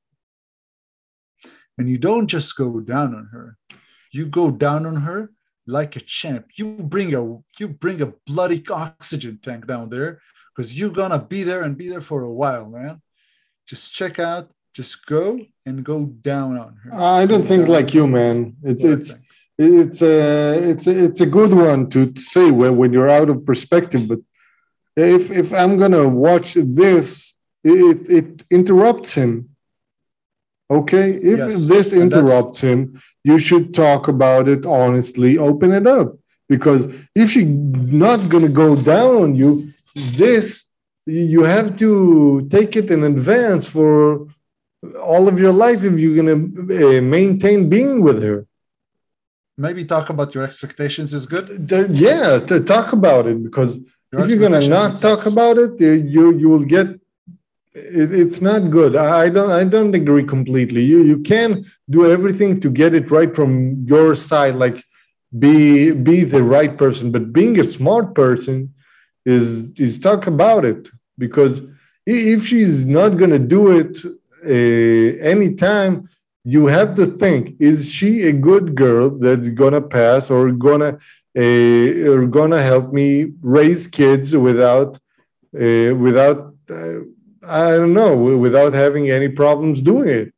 And you don't just go down on her. You go down on her like a champ. You bring a you bring a bloody oxygen tank down there because you're gonna be there and be there for a while, man. Just check out, just go and go down on her.
I don't
Go
think
down
like
on
you,
her.
man. It's
That's what I
it's
think.
it's a it's a, it's a good one to say when when you're out of perspective. But if if I'm gonna watch this, it it interrupts him. Okay, if
Yes,
this
and that's
interrupts him, you should talk about it honestly, open it up. Because if she's not gonna go down on you, this you have to take it in advance for all of your life if you're gonna uh, maintain being with her.
maybe talk about your expectations is good.
Th- Yeah, to talk about it because
Your
if you're gonna
expectations
not
in
talk
sex.
about it, uh, you you will get it, it's not good. I I don't I don't agree completely. You you can do everything to get it right from your side, like be be the right person. But being a smart person is is talk about it because i- if she's not gonna do it uh, anytime, you have to think: is she a good girl that's gonna pass or gonna uh, or gonna help me raise kids without uh, without uh, I don't know, without having any problems doing it?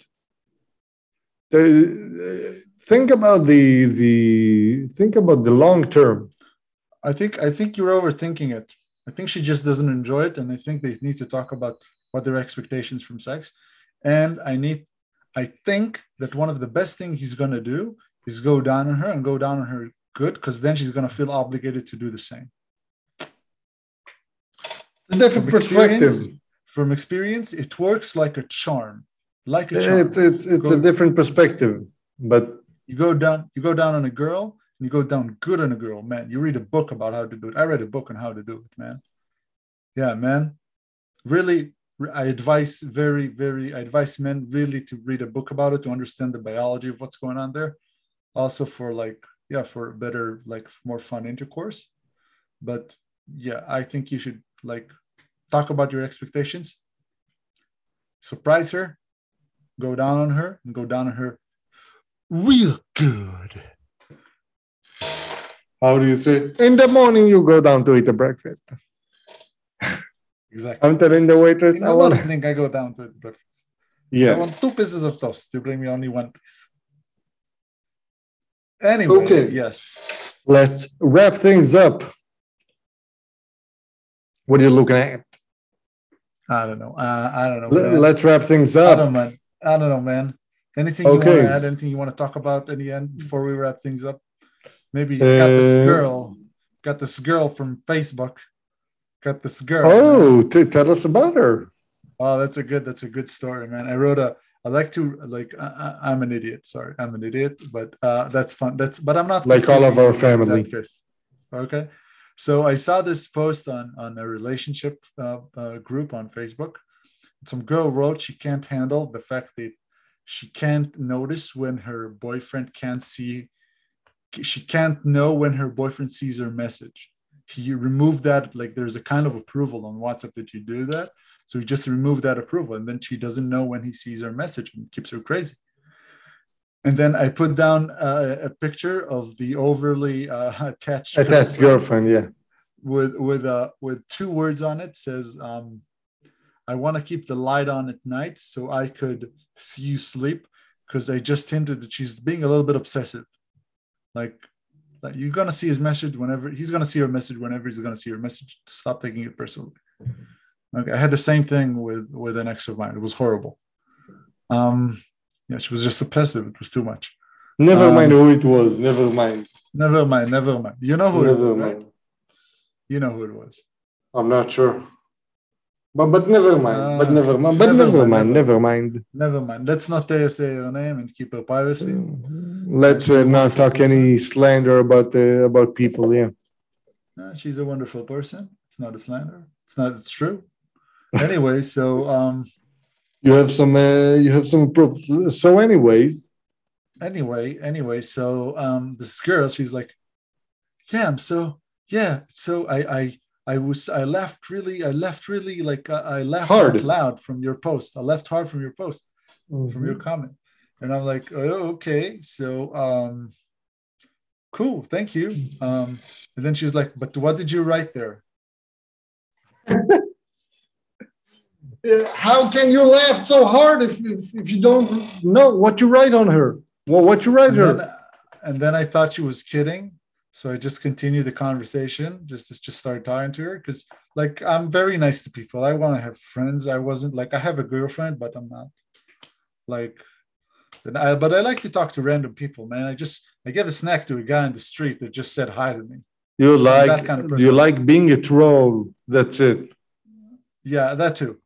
The- think about the the think about the long term.
I think I think you're overthinking it. I think she just doesn't enjoy it, and I think they need to talk about what their expectations from sex. And I need, I think that one of the best things he's gonna do is go down on her and go down on her good, because then she's gonna feel obligated to do the same.
A different
From
perspective.
experience, from experience, it works like a charm, like a charm.
It's it's it's
Go-
a different perspective, but
You go down, you go down on a girl, and you go down good on a girl, man. You read a book about how to do it. I read a book on how to do it, man. Yeah, man. Really, I advise very, very, I advise men really to read a book about it to understand the biology of what's going on there. Also for like, yeah, for better, like more fun intercourse. But yeah, I think you should like talk about your expectations, surprise her, go down on her, and go down on her real good.
how do you say? In the morning, you go down to eat a breakfast.
Exactly.
I'm telling the waitress,
In
I
the
want.
morning, I go down to eat breakfast. I
Yeah,
want two pieces of toast. You bring me only one piece. Anyway,
Okay.
yes.
Let's wrap things up. What are you looking at?
I don't know. Uh, I don't know.
L-
Man.
let's wrap things
I
up.
don't know, man. I don't know, man. Anything you want
Okay.
to add? Anything you want to talk about in the end before we wrap things up? Maybe you got this
Uh,
girl, got this girl from Facebook. Got this girl.
Oh,
man.
t- tell us about her.
Oh, that's a good. That's a good story, man. I wrote a. I like to like. I, I'm an idiot. Sorry, I'm an idiot. But uh, that's fun. That's. But I'm not
Like all of our family.
Okay. So I saw this post on on a relationship uh, uh, group on Facebook. Some girl wrote she can't handle the fact that she can't notice when her boyfriend can't see. She can't know when her boyfriend sees her message. He removed that. Like there's a kind of approval on WhatsApp that you do that. So he just removed that approval, and then she doesn't know when he sees her message, and it keeps her crazy. And then I put down uh, a picture of the overly uh, attached
Attached girlfriend, yeah.
with with uh, with two words on it. It says, um, "I want to keep the light on at night so I could see you sleep," because I just hinted that she's being a little bit obsessive. Like, like you're gonna see his message whenever he's gonna see her message whenever he's gonna see her message. Stop taking it personally. Okay, I had the same thing with with an ex of mine. It was horrible. Um, yeah, she was just obsessive. It was too much.
Never
Um,
mind who it was. Never mind.
Never mind. Never mind. You know who
Never
it was,
mind.
right? You know who it was.
I'm not sure. But but never mind.
Uh,
but never mind. But
never
never,
mind,
mind.
never
Never mind.
Never mind. Let's not say say your name and keep her privacy.
Let's uh, not talk any slander about uh, about people. Yeah.
Uh, she's a wonderful person. It's not a slander. It's not. It's true. Anyway, so um,
You have some. Uh, you have some. Pro- so, anyways.
anyway, anyway, so um, this girl, she's like, yeah, I'm so yeah. So I I I was I laughed really. I left really like uh, I laughed
Hard.
out loud from your post. I left hard from your post,
Mm-hmm.
from your comment, and I'm like, oh, okay, so um, cool, thank you. Um, and then she's like, but what did you write there?
How can you laugh so hard if, if, if you don't know what you write on her? Well, what you write
And
her?
then, and then I thought she was kidding. So I just continued the conversation, just just start talking to her because, like, I'm very nice to people. I want to have friends. I wasn't like I have a girlfriend, but I'm not like. I, but I like to talk to random people, man. I just I gave a snack to a guy in the street that just said hi to me.
You
So
like
that kind of person.
you like being a troll. That's it.
Yeah, that too.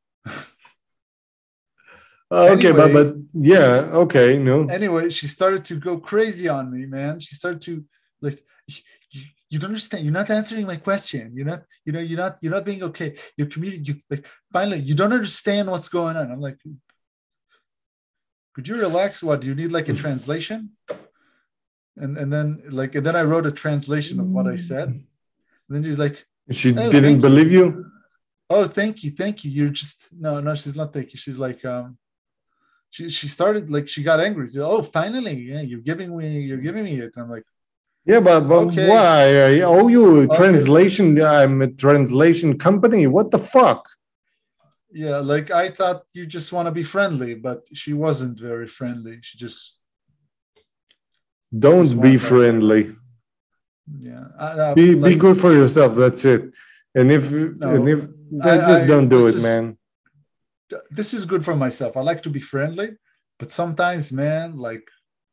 Uh, okay,
Anyway.
but but yeah, okay, no.
Anyway, she started to go crazy on me, man. She started to like, you, you don't understand. You're not answering my question. You're not, you know, you're not, you're not being okay. You're communicating. You, like, finally, you don't understand what's going on. I'm like, could you relax? What do you need? Like a translation? And and then like, and then I wrote a translation of what I said. And then she's like,
She
oh,
didn't believe you. you?
Oh, thank you, thank you. You're just no, no. She's not thank you. She's like, um. She, she started like she got angry. She, oh, finally, yeah, you're giving me you're giving me it. And I'm like,
yeah, but, but
okay.
why? I owe you a
Okay.
translation. I'm a translation company. What the fuck?
Yeah, like I thought you just want to be friendly, but she wasn't very friendly. She just
don't
just
be friendly.
Yeah, uh,
be
like,
be good for yourself. That's it. And if
no,
and if
I,
just
I,
don't do it,
is,
man.
This is good for myself. I like to be friendly, but sometimes, man, like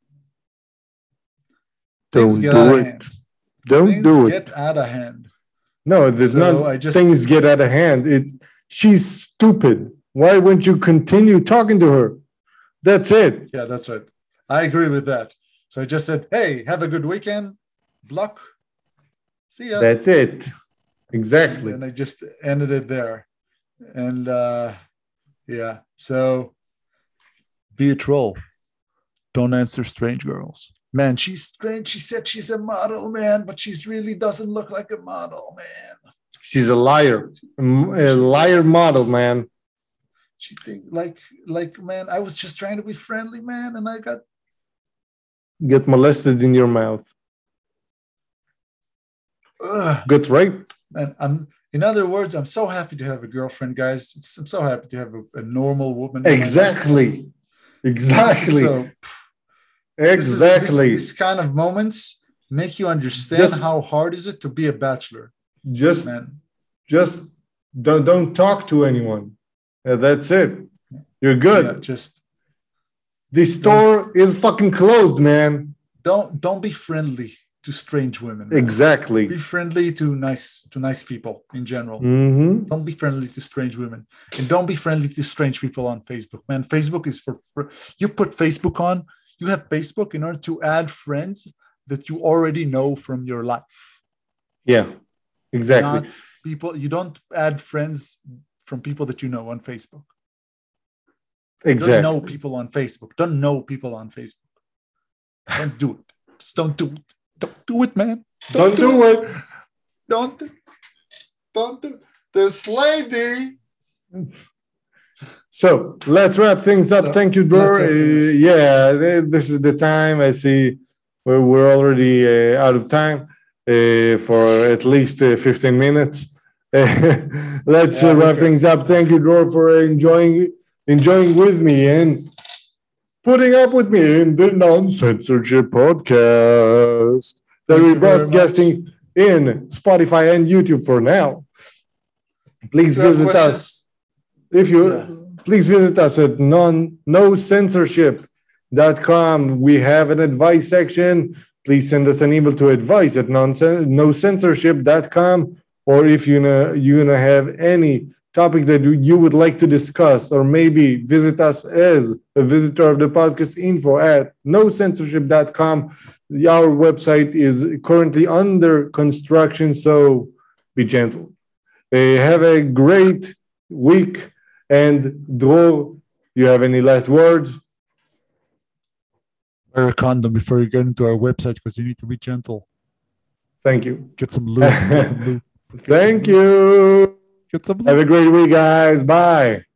things
don't
get
do
out
it.
of hand.
Don't
things
do it.
Get out of hand.
No, there's
so
not.
I just,
things get out of hand. It. She's stupid. Why wouldn't you continue talking to her? That's it.
Yeah, that's right. I agree with that. So I just said, "Hey, have a good weekend." Block. See ya.
That's it. Exactly.
And I just ended it there. And uh, yeah, so be a troll. Don't answer strange girls. Man, she's strange. She said she's a model, man, but she's really doesn't look like a model, man.
She's a liar. A liar model, man.
She think like, like, man, I was just trying to be friendly, man, and I got
get molested in your mouth.
Ugh.
Get raped.
And I'm, in other words, I'm so happy to have a girlfriend, guys. It's, I'm so happy to have a, a normal woman.
Exactly. Exactly.
So,
Exactly.
This, is, this, this kind of moments make you understand just, how hard is it to be a bachelor.
Just, man. just don't don't talk to anyone. Uh, that's it. You're good.
Yeah, just
the store is fucking closed, man.
Don't don't be friendly to strange women. Man.
Exactly.
Be friendly to nice to nice people in general.
Mm-hmm.
Don't be friendly to strange women, and don't be friendly to strange people on Facebook. Man, Facebook is for fr- you put Facebook on. You have Facebook in order to add friends that you already know from your life.
Yeah, exactly.
Not people you don't add friends from people that you know on Facebook.
Exactly.
Don't know people on Facebook. Don't know people on Facebook. Don't do it. Just don't do it. Don't do it, man.
Don't, don't do, do it. it.
Don't do Don't do it. This lady.
So let's wrap things up. No, Thank you, Dror. Uh, yeah, this is the time. I see we're, we're already uh, out of time uh, for at least uh, fifteen minutes. let's yeah, uh, wrap okay. things up. Thank you, Dror, for enjoying enjoying with me and putting up with me in the Non-Censorship podcast that we're broadcasting in Spotify and YouTube for now. Please visit questions? us. If you yeah. Please visit us at non no censorship dot com. We have an advice section. Please send us an email to advice at no censorship dot com. Or if you know you're gonna have any topic that you would like to discuss, or maybe visit us as a visitor of the podcast, info at no censorship dot com. Our website is currently under construction, so be gentle. Uh, have a great week. And Dror, you have any last words?
Wear a condom before you get into our website because you need to be gentle.
Thank you.
Get some lube. Get some lube.
Thank you.
Get some lube.
Have a great week, guys. Bye.